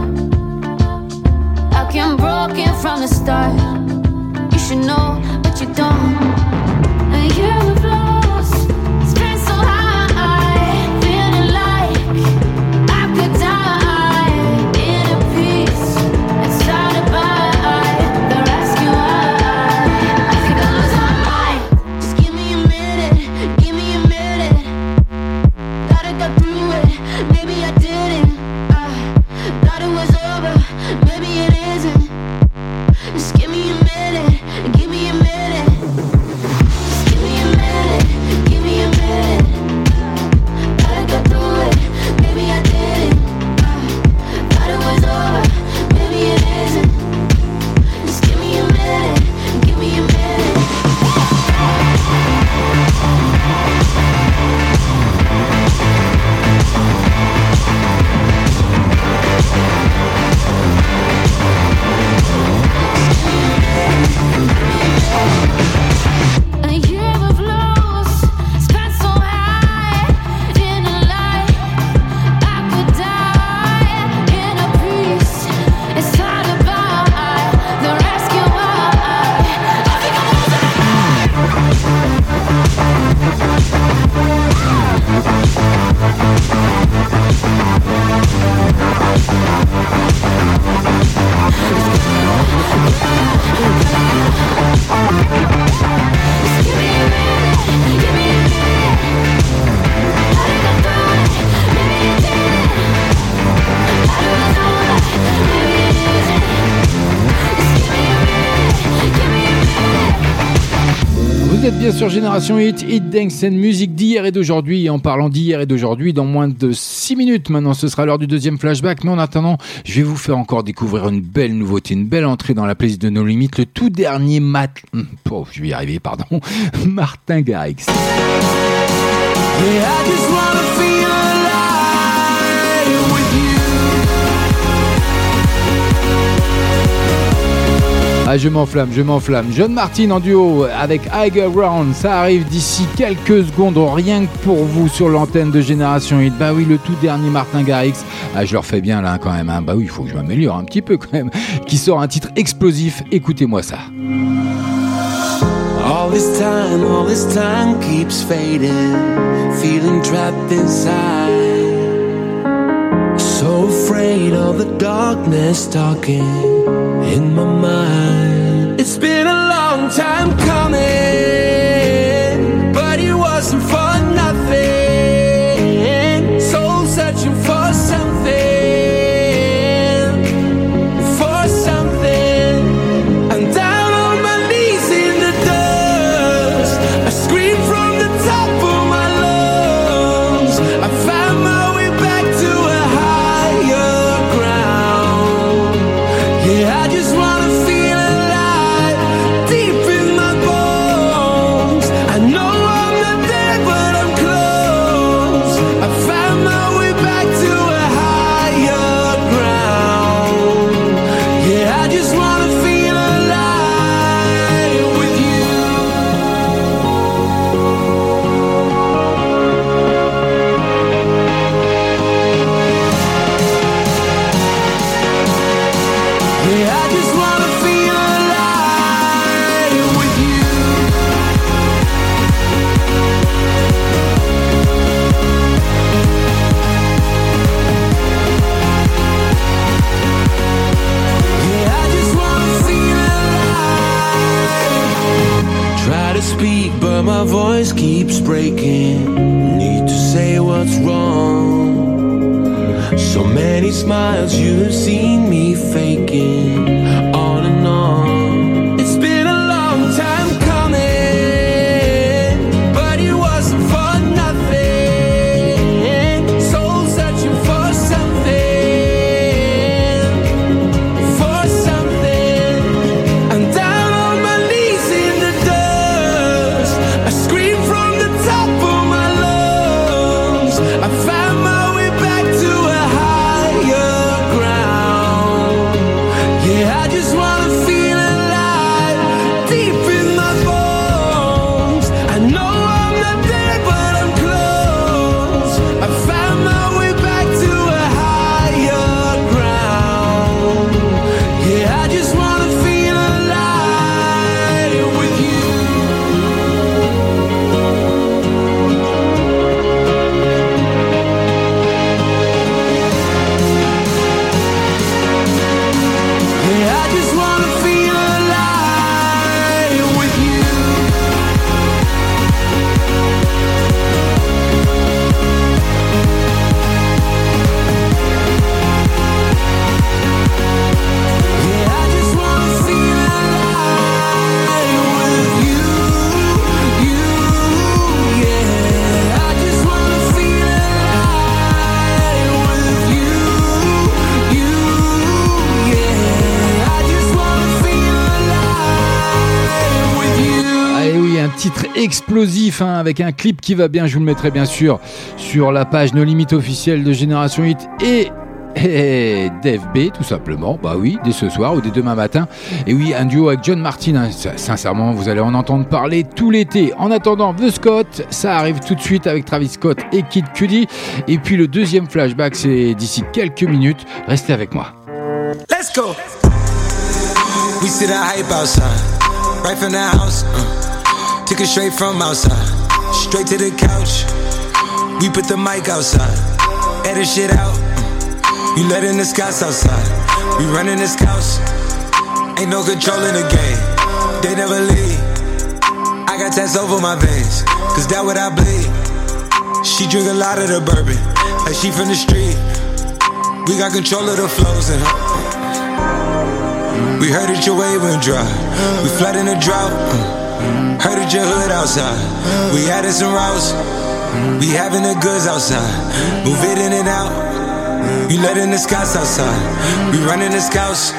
I've been broken from the start. You should know, but you don't. And you've lost, spent so high, feeling like I could die. Inner peace, it's hard to buy. They're asking why. I think I'm losing my mind. Just give me a minute, give me a minute. Gotta go through it, maybe I didn't. I thought it was over, maybe it isn't. Just give me a minute, give me a minute. Just give me a minute, give me a minute. Gotta go through it, maybe I didn't. I thought it was over, maybe it isn't. Just give me a minute, give me a minute. A year of loss, spent so high, feeling like I could die. Inner peace, it's hard to buy. They're asking why. I think I'm losing my Vous êtes bien sur Génération Hit, Hit Dance and Music d'hier et d'aujourd'hui. Et en parlant d'hier et d'aujourd'hui, dans moins de six minutes maintenant, ce sera l'heure du deuxième flashback. Mais en attendant, je vais vous faire encore découvrir une belle nouveauté, une belle entrée dans la playlist de No Limit, le tout dernier mat... Oh, je vais y arriver, pardon. Martin Garrix. Yeah, I just wanna feel alive with you. Ah, je m'enflamme, je m'enflamme. John Martin en duo avec High Ground, ça arrive d'ici quelques secondes, rien que pour vous sur l'antenne de Génération Hit. Bah oui, le tout dernier Martin Garrix. Ah, je leur fais bien là quand même. Hein. Bah oui, il faut que je m'améliore un petit peu quand même. Qui sort un titre explosif. Écoutez-moi ça. All this time, all this time keeps fading, feeling trapped inside. So afraid of the darkness talking in my mind. It's been a long time coming, but it wasn't for nothing. Soul searching for something, for something. I'm down on my knees in the dust. I scream from the top of my lungs. I found my way back to a higher ground. Yeah, I just wanna feel alive deep in my bones. So many smiles you have seen me faking on and on. It's been a long time coming, but it wasn't for nothing. Soul searching for something, for something. I'm down on my knees in the dust. I scream from the top of my lungs. I found my way back to a higher ground. Yeah, I just wanna feel alive, deep in my bones. I know I'm not there, but I'm close. I found my way back to a higher ground. Yeah, I just wanna feel alive with you. Yeah, I just wanna feel alive with you. Yeah, I just wanna feel alive with you, you, yeah. I just wanna feel alive with you, you, yeah. I just wanna feel alive with you. Ah et oui, un titre explosif hein, avec un clip qui va bien, je vous le mettrai bien sûr sur la page No Limit officielle de Génération Hit et, et Dave B tout simplement, bah oui, dès ce soir ou dès demain matin. Et oui, un duo avec John Martin, hein, ça, sincèrement vous allez en entendre parler tout l'été. En attendant, The Scott, ça arrive tout de suite avec Travis Scott et Kid Cudi. Et puis le deuxième flashback, c'est d'ici quelques minutes, restez avec moi. Let's go. We see the hype outside, right from the house. Uh, took it straight from outside, straight to the couch. We put the mic outside, edit shit out. Uh, you letting the scouts outside, we running the scouts. Ain't no control in the game, they never leave. I got tats over my veins, cause that what I bleed. She drink a lot of the bourbon, like she from the street. We got control of the flows in her. We heard that your wave went dry. We flood in the drought. Heard that your hood outside. We added some routes. We having the goods outside. Move it in and out. You letting the scouts outside. We running the scouts.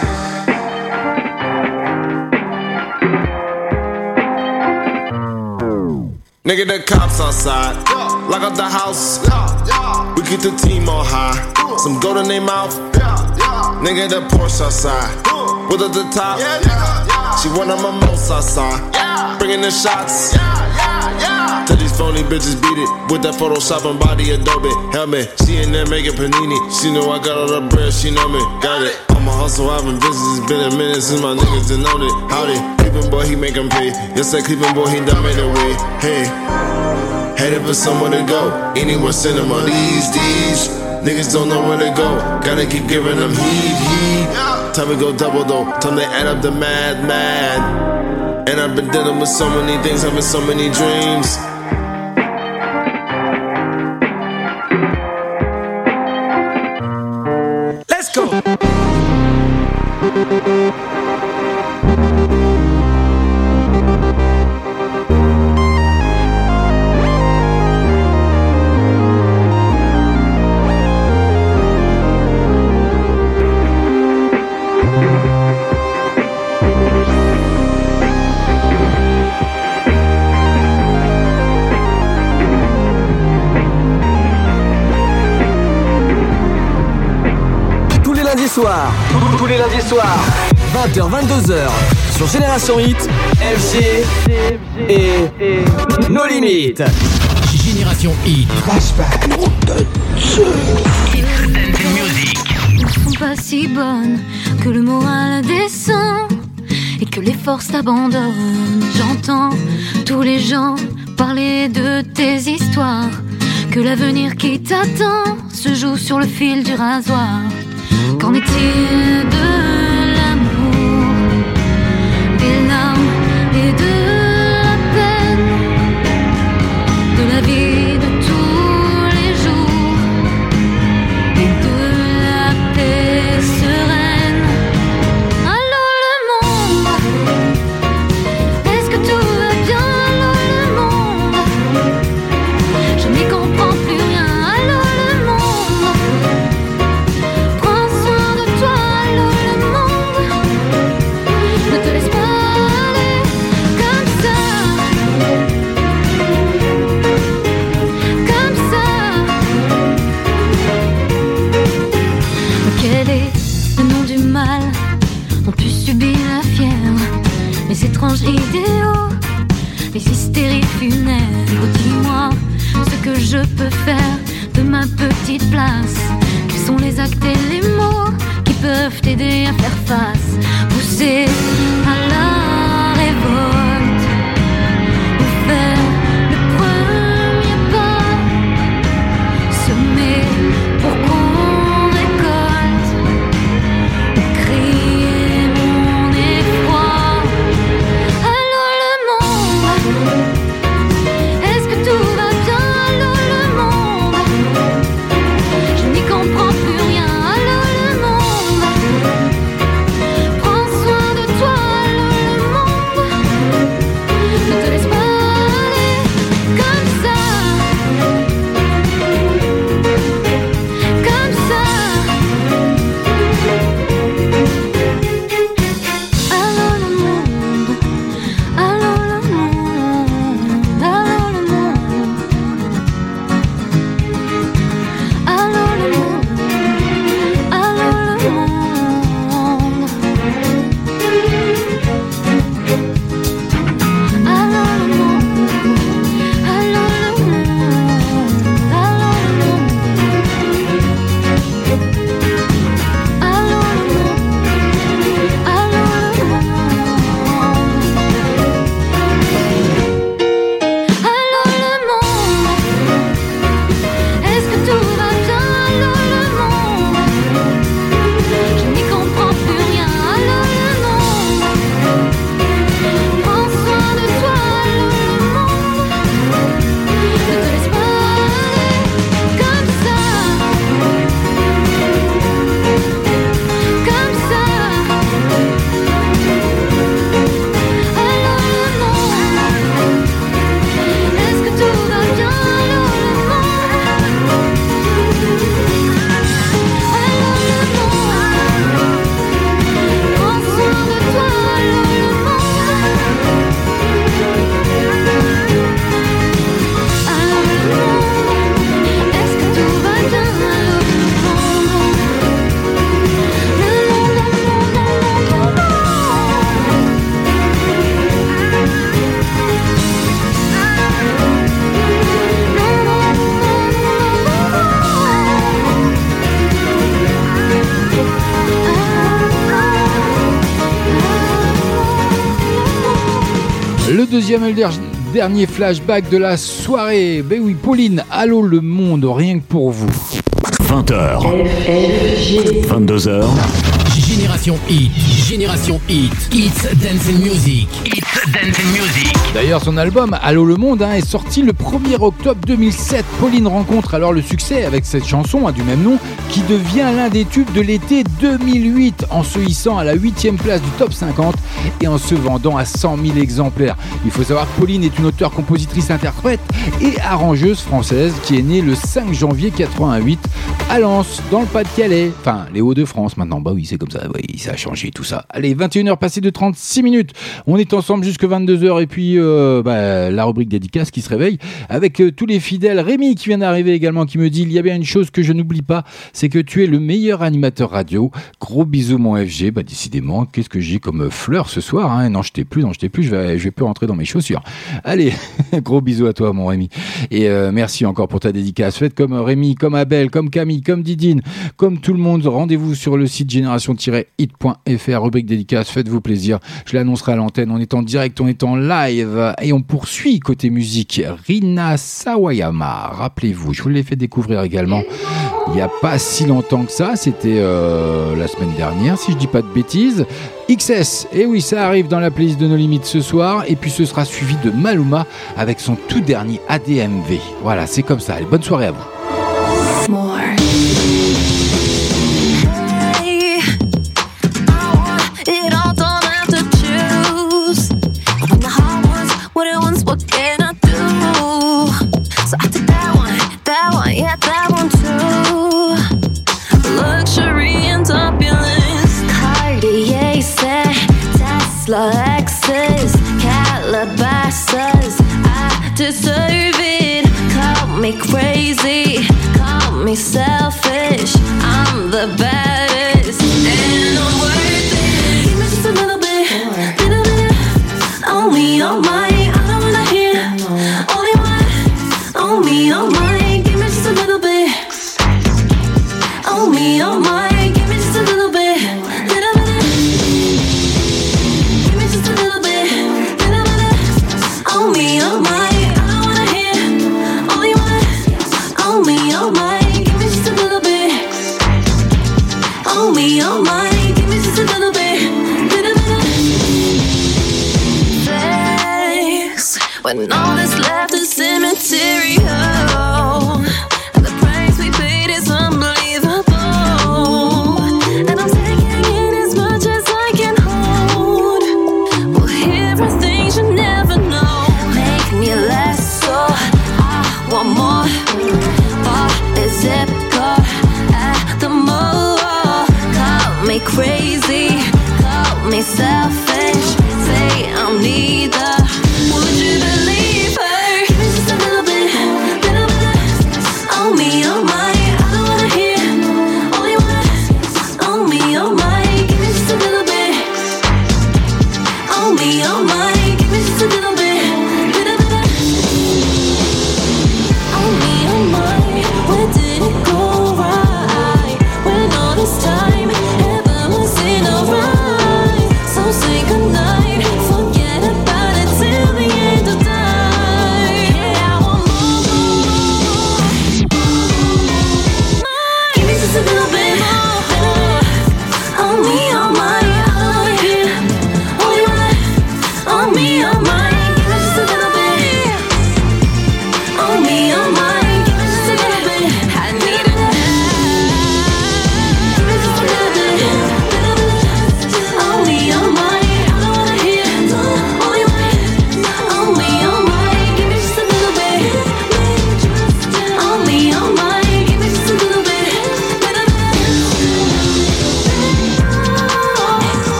Nigga, the cops outside. Lock up the house. We keep the team on high. Some gold in their mouth. Nigga, the Porsche outside. With at the top. She one of my most outside. Bringing the shots. Tell these phony bitches beat it. With that Photoshop and body Adobe. Helmet. She in there making panini. She know I got all the bread. She know me. Got it. I'm a hustle. I've been busy. It's been a minute since my niggas done known it. Howdy. Cleveland boy, he make 'em pay. Yes, that Cleveland boy, he done made a way. Hey. Headed for somewhere to go. Anywhere cinema. These, these. Niggas don't know where to go. Gotta keep giving them heat, heat. Time to go double though. Time to add up the mad, mad. And I've been dealing with so many things, having so many dreams. Let's go. Soir, tous les lundis soirs, vingt heures vingt-deux heures, sur Génération Hit, F G et No Limit. Génération Hit. Flashback. Ne sont pas si bonnes que le moral descend et que les forces t'abandonnent. J'entends tous les gens parler de tes histoires, que l'avenir qui t'attend se joue sur le fil du rasoir. Qu'en est-il de l'amour, des larmes et de la peine, de la vie de tous les jours et de face? Quels sont les actes et les mots qui peuvent t'aider à faire face? Pousser à la révolte ou faire le premier pas, semer pour qu'on récolte ou crier mon effroi. Allô le monde, est-ce que tout va bien? Allô le monde, je n'y comprends plus rien. Allô le monde, prends soin de toi. Allô le monde, ne te laisse pas aller comme ça, comme ça. Allô le monde, allô le monde, allô le monde, allô le monde, allô le monde, allô le monde, allô le monde, allô le monde, allô le monde, allô le monde, allô le monde, est-ce que tout va bien? Allô le monde, je n'y comprends plus rien. Allô le monde, prends soin de toi. Allô le monde, ne te laisse pas aller comme ça, comme ça. Allô le monde, est-ce que tout va bien? Allô le monde, allô le monde, prends soin de toi. Allô le monde, allô le monde, est-ce que tout va bien? Allô le Le deuxième et le der- dernier flashback de la soirée. Ben oui, Pauline, allô le monde, rien que pour vous. vingt heures, vingt-deux heures. Génération Hit, Génération Hit, It's Dancing Music, It's Dancing Music. D'ailleurs, son album Allô le monde hein, est sorti le premier octobre deux mille sept. Pauline rencontre alors le succès avec cette chanson hein, du même nom qui devient l'un des tubes de l'été deux mille huit en se hissant à la huitième place du top cinquante et en se vendant à cent mille exemplaires. Il faut savoir que Pauline est une auteure, compositrice, interprète et arrangeuse française qui est née le cinq janvier quatre-vingt-huit à Lens, dans le Pas-de-Calais. Enfin, les Hauts-de-France maintenant. Bah oui, c'est comme ça. Oui, ça a changé tout ça. Allez, vingt et une heures passées de trente-six minutes. On est ensemble jusque vingt-deux heures et puis euh, bah, la rubrique dédicace qui se réveille avec euh, tous les fidèles. Rémi qui vient d'arriver également qui me dit il y a bien une chose que je n'oublie pas, c'est que tu es le meilleur animateur radio. Gros bisous mon F G. Bah décidément, qu'est-ce que j'ai comme fleur ce soir hein. Non, je t'ai plus, non, je t'ai plus. Je vais, je vais plus rentrer dans mes chaussures. Allez, gros bisous à toi mon Rémi. Et euh, merci encore pour ta dédicace. Faites comme Rémi, comme Abel, comme Camille, comme Didine, comme tout le monde. Rendez-vous sur le site génération tiret hit point f r, rubrique dédicace. Faites-vous plaisir. Je l'annoncerai à l'antenne. On est en direct, on est en live et on poursuit côté musique. Rina Sawayama, rappelez-vous, je vous l'ai fait découvrir également il n'y a pas si longtemps que ça. C'était euh, la semaine dernière, si je dis pas de bêtises. X S, et oui, ça arrive dans la playlist de No Limites ce soir. Et puis ce sera suivi de Maluma avec son tout dernier A D M V. Voilà, c'est comme ça. Allez, bonne soirée à vous. More. It all don't have to choose. When the heart wants what it wants, what can I do? So I took that one, that one, yeah, that one too. Luxury and opulence, Cartier set, Tesla Lexus, Calabasas. I deserve it. Call me crazy, call me selfish. I'm the baddest, and I'm worth it. Give me just a little bit, little bit. Only on mine, I don't wanna hear. Only one, only on mine. Give me just a little bit.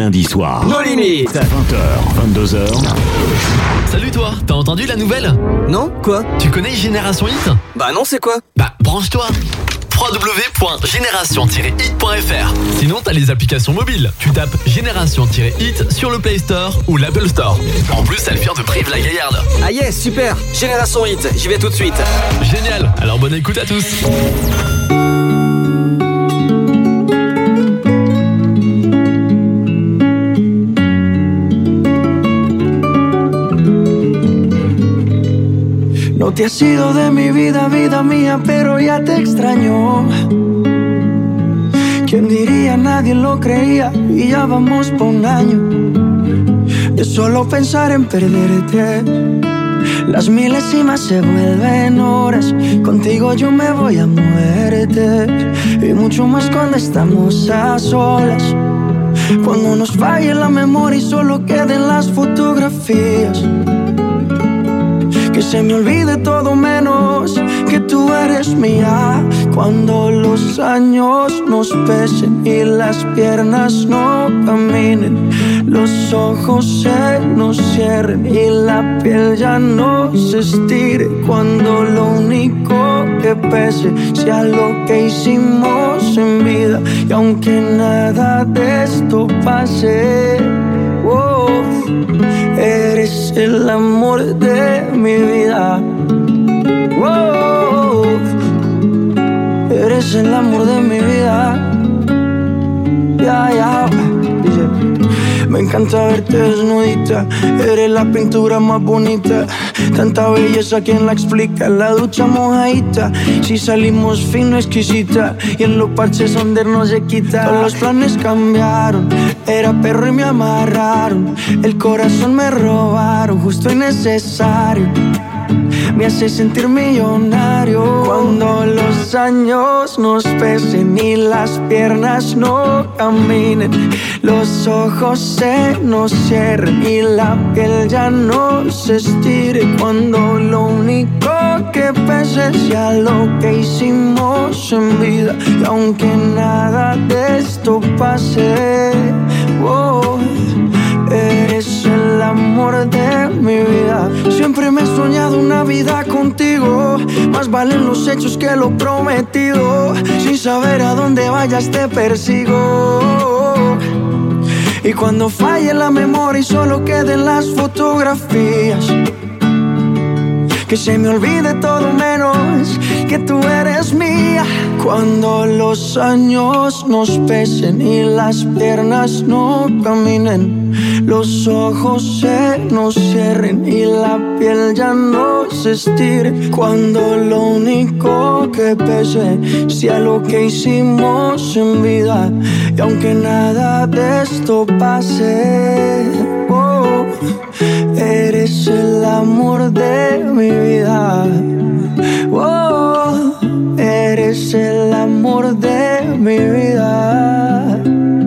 lundis soirs. Nos limites. vingt heures, vingt-deux heures. Salut toi, t'as entendu la nouvelle? Non, quoi? Tu connais Génération Hit? Bah non, c'est quoi? Bah branche-toi, w w w point génération tiret hit point f r. Sinon t'as les applications mobiles. Tu tapes Génération Hit sur le Play Store ou l'Apple Store. En plus elle vient de Brive-la-Gaillarde. Ah yes, super. Génération Hit, j'y vais tout de suite. Génial, alors bonne écoute à tous. No te has ido de mi vida, vida mía, pero ya te extraño. ¿Quién diría? Nadie lo creía y ya vamos por un año de solo pensar en perderte. Las milésimas se vuelven horas, contigo yo me voy a muerte. Y mucho más cuando estamos a solas, cuando nos falle la memoria y solo queden las fotografías. Que se me olvide todo menos que tú eres mía. Cuando los años nos pesen y las piernas no caminen, los ojos se nos cierren y la piel ya no se estire. Cuando lo único que pese sea lo que hicimos en vida. Y aunque nada de esto pase, oh, eres el amor de mi vida. Oh, eres el amor de mi vida. Ya, ya. Dice, me encanta verte desnudita. Eres la pintura más bonita. Tanta belleza, ¿quién la explica? La ducha mojadita. Si salimos fino, exquisita. Y en los parches donde no se quita. Todos los planes cambiaron. Era perro y me amarraron. El corazón me robaron, justo y necesario. Me hace sentir millonario. Cuando los años nos pesen y las piernas no caminen, los ojos se nos cierren y la piel ya no se estire. Cuando lo único que pese sea lo que hicimos en vida. Y aunque nada de esto pase, oh, eres el amor de mi vida. Siempre me he soñado una vida contigo. Más valen los hechos que lo prometido. Sin saber a dónde vayas te persigo. Y cuando falle la memoria y solo queden las fotografías, que se me olvide todo menos que tú eres mía. Cuando los años nos pesen y las piernas no caminen, los ojos se nos cierren y la piel ya no se estire. Cuando lo único que pese sea lo que hicimos en vida. Y aunque nada de esto pase, oh, eres el amor de mi vida. Oh, eres el amor de mi vida.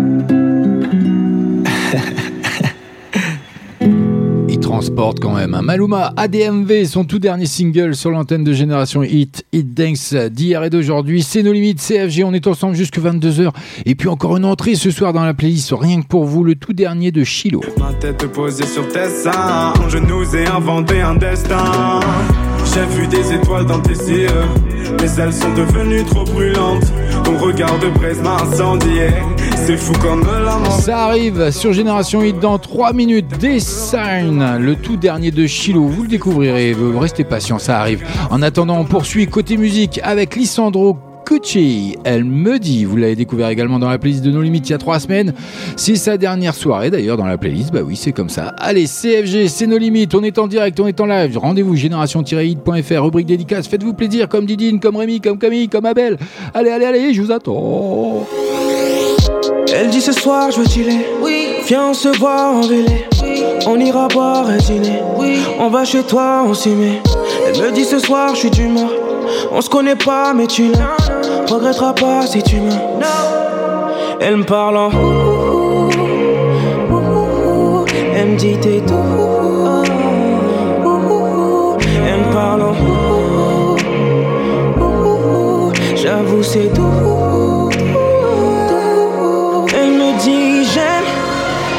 Il transporte quand même. Maluma, A D M V, son tout dernier single sur l'antenne de Génération Hit. Hit Dance d'hier et d'aujourd'hui. C'est nos limites, C F G. On est ensemble jusqu'à vingt-deux heures. Et puis encore une entrée ce soir dans la playlist, rien que pour vous, le tout dernier de Chilo. Ma tête posée sur tes seins, je nous ai inventé un destin. J'ai vu des étoiles dans tes yeux, mais elles sont devenues trop brûlantes. Ton regard de braise m'a incendié. C'est fou comme l'amour. Ça arrive sur Génération Hit dans trois minutes. Design, le tout dernier de Chilo. Vous le découvrirez, vous restez patient, ça arrive. En attendant, on poursuit côté musique avec Lisandro Cucci. Elle me dit, vous l'avez découvert également dans la playlist de No Limites il y a trois semaines. C'est sa dernière soirée d'ailleurs dans la playlist. Bah oui, c'est comme ça. Allez, C F G, c'est No Limites. On est en direct, on est en live. Rendez-vous génération tiret hit point f r, rubrique dédicace. Faites-vous plaisir comme Didine, comme Rémi, comme Camille, comme Abel. Allez, allez, allez, je vous attends. Elle dit ce soir je veux chiller, oui. Viens on se voit en vélé, oui. On ira boire un dîner, oui. On va chez toi, on s'y met. Elle me dit ce soir je suis d'humeur. On se connaît pas mais tu ne regretteras pas si tu me. Elle me parle en ouh, ouh, ouh. Elle me dit t'es tout ouh, ouh. Elle me parle en ouh, ouh. J'avoue c'est tout. Elle me dit j'aime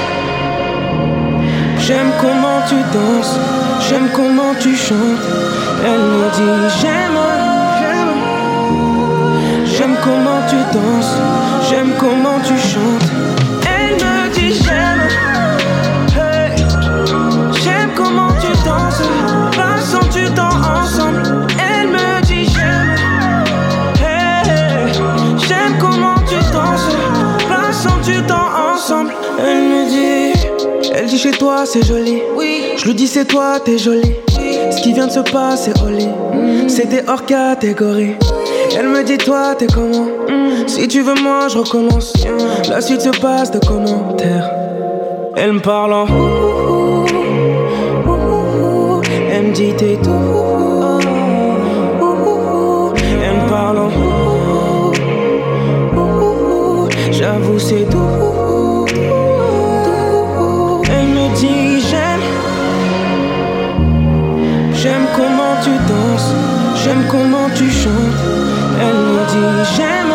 J'aime comment tu danses, j'aime comment tu chantes. Elle me dit j'aime, j'aime. J'aime comment tu danses, j'aime comment tu chantes. Elle me dit j'aime, hey. J'aime comment tu danses, passons du temps ensemble. Elle me dit j'aime, hey. J'aime comment tu danses, passons du temps ensemble. Elle me dit, elle dit chez toi c'est joli, oui. Je lui dis c'est toi t'es jolie, oui. Ce qui vient de se passer au lit, mm. C'était hors catégorie. Elle me dit toi t'es comment, mm. Si tu veux moi je recommence, mm. La suite se passe de commentaires. Elle me parle en ouh, ouh, ouh. Elle me dit t'es tout, ouh, ouh. Elle me parle en ouh, ouh, ouh. J'avoue c'est tout. Elle me dit j'aime, j'aime comment tu danses, j'aime comment tu chantes. Elle me dit j'aime,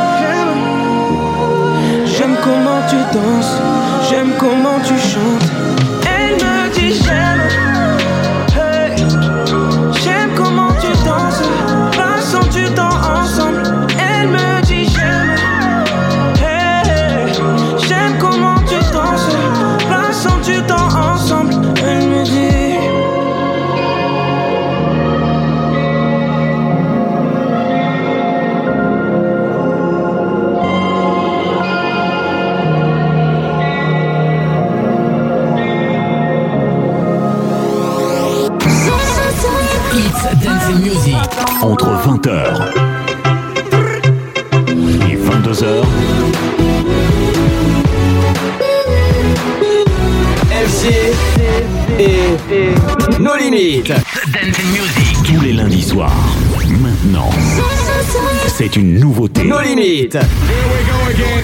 j'aime, j'aime comment tu danses, j'aime comment tu chantes. Elle me dit j'aime, hey. J'aime comment tu danses, passons du temps ensemble. Elle me dit j'aime, hey. J'aime comment tu danses, passons du temps ensemble. Elle me dit Dancing Music. Entre vingt heures et vingt-deux heures. F G et No Limit. Dancing Music. Tous les lundis soirs. Maintenant. C'est une nouveauté. No Limit. Here we go again.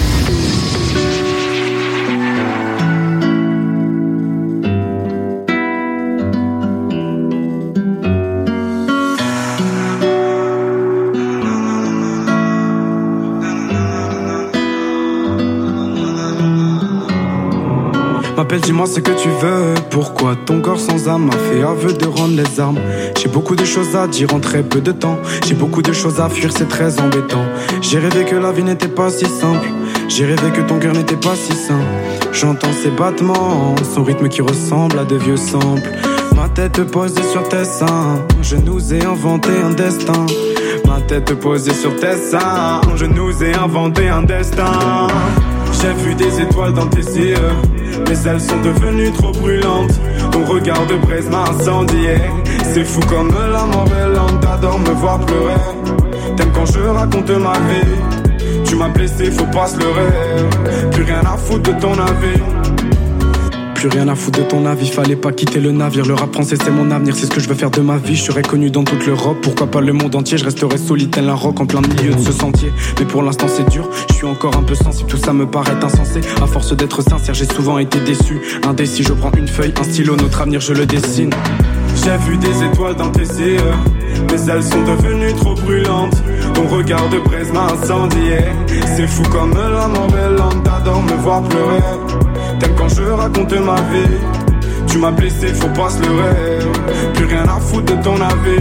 M'appelle, dis-moi ce que tu veux. Pourquoi ton corps sans âme m'a fait aveu de rendre les armes. J'ai beaucoup de choses à dire en très peu de temps. J'ai beaucoup de choses à fuir, c'est très embêtant. J'ai rêvé que la vie n'était pas si simple. J'ai rêvé que ton cœur n'était pas si sain. J'entends ses battements, son rythme qui ressemble à de vieux samples. Ma tête posée sur tes seins, je nous ai inventé un destin. Ma tête posée sur tes seins, je nous ai inventé un destin. J'ai vu des étoiles dans tes yeux, mais elles sont devenues trop brûlantes. Ton regard de braise m'a incendié. C'est fou comme la mort est lente. T'adores me voir pleurer. T'aimes quand je raconte ma vie. Tu m'as blessé, faut pas se leurrer. Plus rien à foutre de ton avis. Plus rien à foutre de ton avis, fallait pas quitter le navire. Le rap français c'est mon avenir, c'est ce que je veux faire de ma vie. Je serai connu dans toute l'Europe, pourquoi pas le monde entier. Je resterai solide tel un roc en plein milieu de ce sentier. Mais pour l'instant c'est dur, je suis encore un peu sensible. Tout ça me paraît insensé, à force d'être sincère j'ai souvent été déçu. Indécis, je prends une feuille, un stylo, notre avenir je le dessine. J'ai vu des étoiles dans tes yeux, mais elles sont devenues trop brûlantes. Ton regard de braise m'a incendié. C'est fou comme la mort est lente. T'adores me voir pleurer. T'aimes quand je raconte ma vie. Tu m'as blessé, faut pas se leurrer. Plus rien à foutre de ton avis.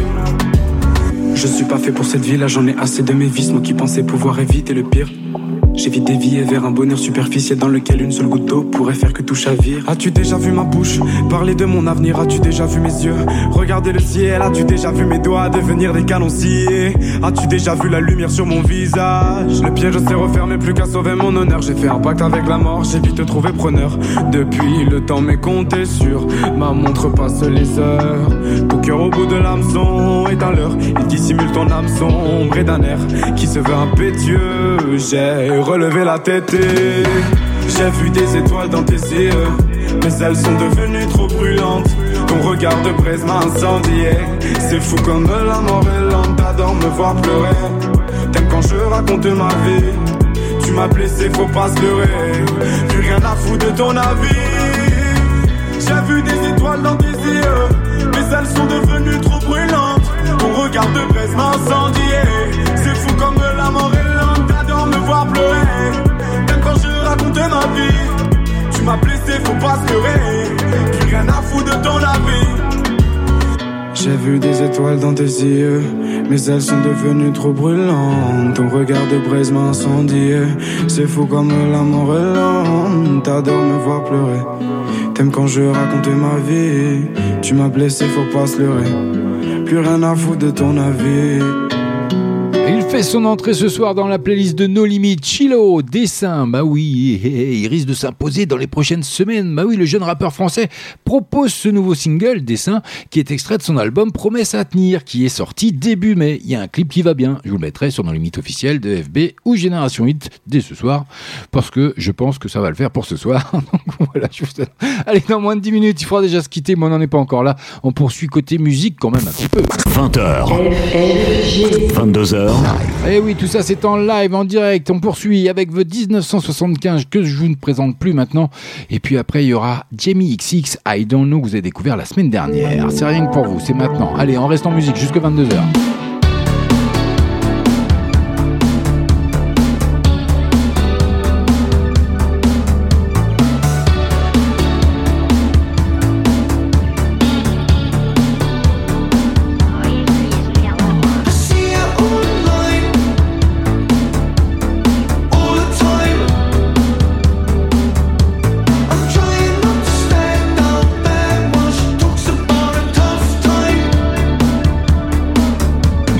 Je suis pas fait pour cette vie là, j'en ai assez de mes vices. Moi qui pensais pouvoir éviter le pire. J'évite dévier vers un bonheur superficiel dans lequel une seule goutte d'eau pourrait faire que tout chavire. As-tu déjà vu ma bouche parler de mon avenir? As-tu déjà vu mes yeux regarder le ciel? As-tu déjà vu mes doigts devenir des canons sciés? As-tu déjà vu la lumière sur mon visage? Le piège s'est refermé, plus qu'à sauver mon honneur. J'ai fait un pacte avec la mort, j'ai vite trouvé preneur. Depuis le temps m'est compté sur ma montre passe les heures. Ton cœur au bout de l'hameçon est à l'heure. Il dissimule ton âme sombre et d'un air qui se veut impétueux. J'ai relevé la tête et j'ai vu des étoiles dans tes yeux, mais elles sont devenues trop brûlantes. Ton regard de braise m'a incendié. C'est fou comme la mort est lente. T'adores me voir pleurer. T'aimes quand je raconte ma vie. Tu m'as blessé, faut pas se leurrer. Plus rien à foutre de ton avis. J'ai vu des étoiles dans tes yeux, mais elles sont devenues trop brûlantes. Ton regard de braise m'a incendié. C'est fou comme la mort est lente. T'adores me voir pleurer. Même quand je raconte ma vie. Tu m'as blessé, faut pas se leurrer. étoiles dans tes yeux, mais elles sont devenues trop brûlantes. Ton regard de braise m'a incendié. C'est fou comme l'amour est lent. T'adores me voir pleurer. T'aimes quand je raconte ma vie. Tu m'as blessé, faut pas se leurrer. Plus rien à foutre de ton avis. Il fait son entrée ce soir dans la playlist de No Limit. Chilo, Dessin, bah oui, il risque de s'imposer dans les prochaines semaines. Bah oui, le jeune rappeur français propose ce nouveau single, Dessin, qui est extrait de son album Promesse à tenir, qui est sorti début mai. Il y a un clip qui va bien, je vous le mettrai sur No Limit officiel de F B ou Génération Hit dès ce soir, parce que je pense que ça va le faire pour ce soir. Donc voilà, je vous... Allez, dans moins de dix minutes, il faudra déjà se quitter, mais on n'en est pas encore là. On poursuit côté musique quand même un petit peu. vingt heures, vingt-deux heures. Et oui, tout ça c'est en live, en direct. On poursuit avec The dix-neuf cent soixante-quinze que je ne présente plus maintenant. Et puis après il y aura Jamie X X, I Don't Know, que vous avez découvert la semaine dernière. C'est rien que pour vous, c'est maintenant. Allez, on reste en musique jusqu'à vingt-deux heures. Talks about a tough time.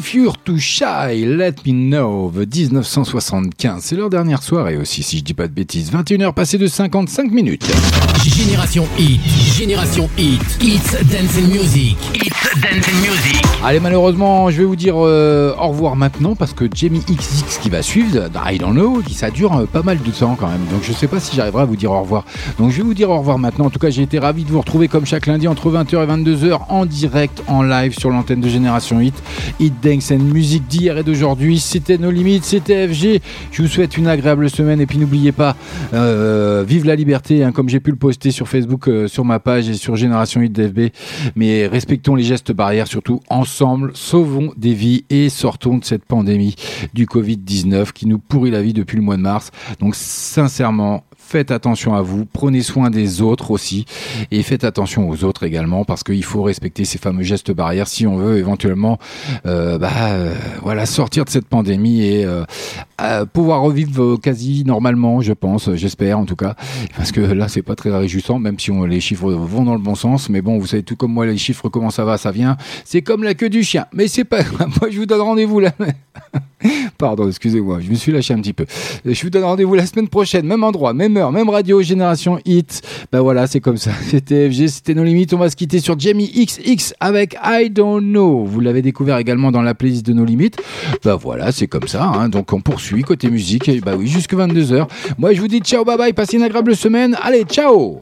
If You're Too Shy, Let Me Know, de dix-neuf cent soixante-quinze. C'est leur dernière soirée aussi, si je dis pas de bêtises. vingt et une heures passées de cinquante-cinq minutes. Génération Hit, Génération Hit, It's Dance and Music, It's Dance and Music. Allez, malheureusement, je vais vous dire euh, au revoir maintenant parce que Jamie X X qui va suivre, I Don't Know, ça dure euh, pas mal de temps quand même. Donc je sais pas si j'arriverai à vous dire au revoir. Donc je vais vous dire au revoir maintenant. En tout cas, j'ai été ravi de vous retrouver comme chaque lundi entre vingt heures et vingt-deux heures en direct, en live sur l'antenne de Génération Hit. Hit Dance and Music d'hier et d'aujourd'hui. C'était nos limites, c'était F G. Je vous souhaite une agréable semaine et puis n'oubliez pas, euh, vive la liberté, hein, comme j'ai pu le poster sur Facebook, euh, sur ma page et sur Génération Hit D F B. Mais respectons les gestes barrières, surtout ensemble, sauvons des vies et sortons de cette pandémie du covid dix-neuf qui nous pourrit la vie depuis le mois de mars. Donc sincèrement, faites attention à vous, prenez soin des autres aussi et faites attention aux autres également parce qu'il faut respecter ces fameux gestes barrières si on veut éventuellement euh, bah, euh, voilà, sortir de cette pandémie et euh, euh, pouvoir revivre quasi normalement, je pense, j'espère en tout cas, parce que là c'est pas très réjouissant même si on, les chiffres vont dans le bon sens, mais bon, vous savez tout comme moi, les chiffres, comment ça va, ça vient, c'est comme la queue du chien, mais c'est pas grave. Moi je vous donne rendez-vous là. Pardon, excusez-moi, je me suis lâché un petit peu. Je vous donne rendez-vous la semaine prochaine, même endroit, même heure, même radio, Génération Hit. Ben voilà, c'est comme ça. C'était F G, c'était nos limites. On va se quitter sur Jamie X X avec I Don't Know. Vous l'avez découvert également dans la playlist de nos limites. Ben voilà, c'est comme ça. Hein. Donc on poursuit côté musique. Et ben oui, jusque vingt-deux heures. Moi, je vous dis ciao, bye bye. Passez une agréable semaine. Allez, ciao.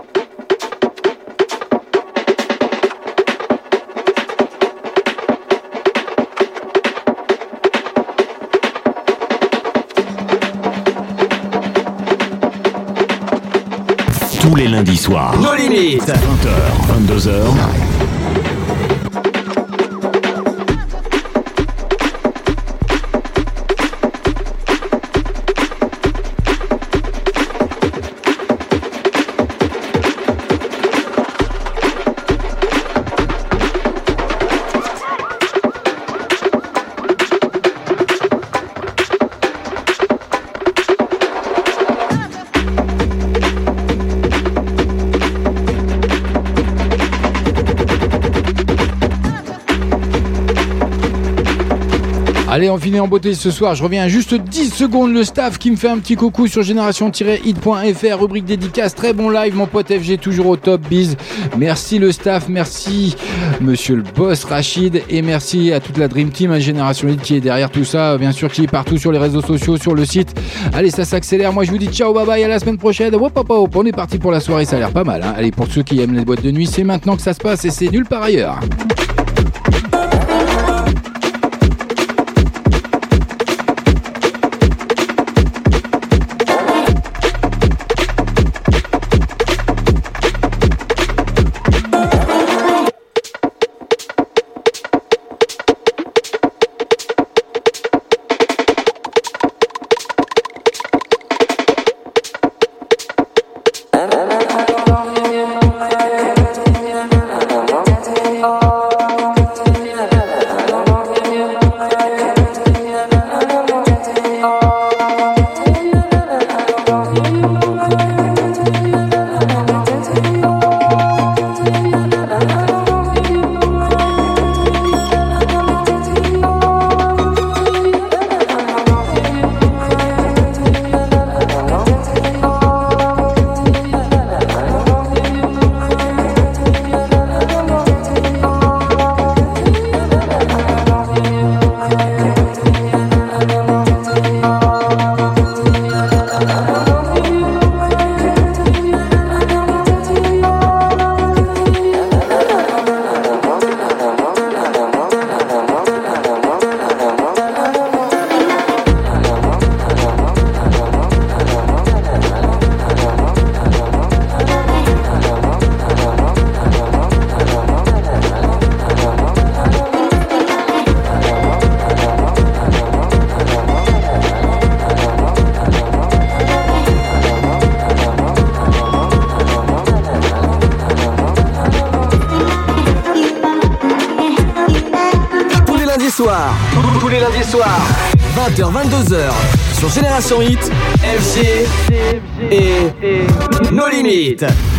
Tous les lundis soirs. Nos limites. vingt heures, vingt-deux heures. Allez, on finit en beauté ce soir. Je reviens juste dix secondes. Le staff qui me fait un petit coucou sur génération tiret hit point f r, rubrique dédicace. Très bon live, mon pote F G, toujours au top. Bise. Merci le staff, merci monsieur le boss Rachid et merci à toute la Dream Team, à Génération Hit qui est derrière tout ça, bien sûr, qui est partout sur les réseaux sociaux, sur le site. Allez, ça s'accélère. Moi, je vous dis ciao, bye bye, à la semaine prochaine. Hop, hop, hop. On est parti pour la soirée, ça a l'air pas mal. Hein. Allez, pour ceux qui aiment les boîtes de nuit, c'est maintenant que ça se passe et c'est nulle part ailleurs. Tous les lundis soirs, vingt heures vingt-deux heures, sur Génération Hit, F G et Nos Limites.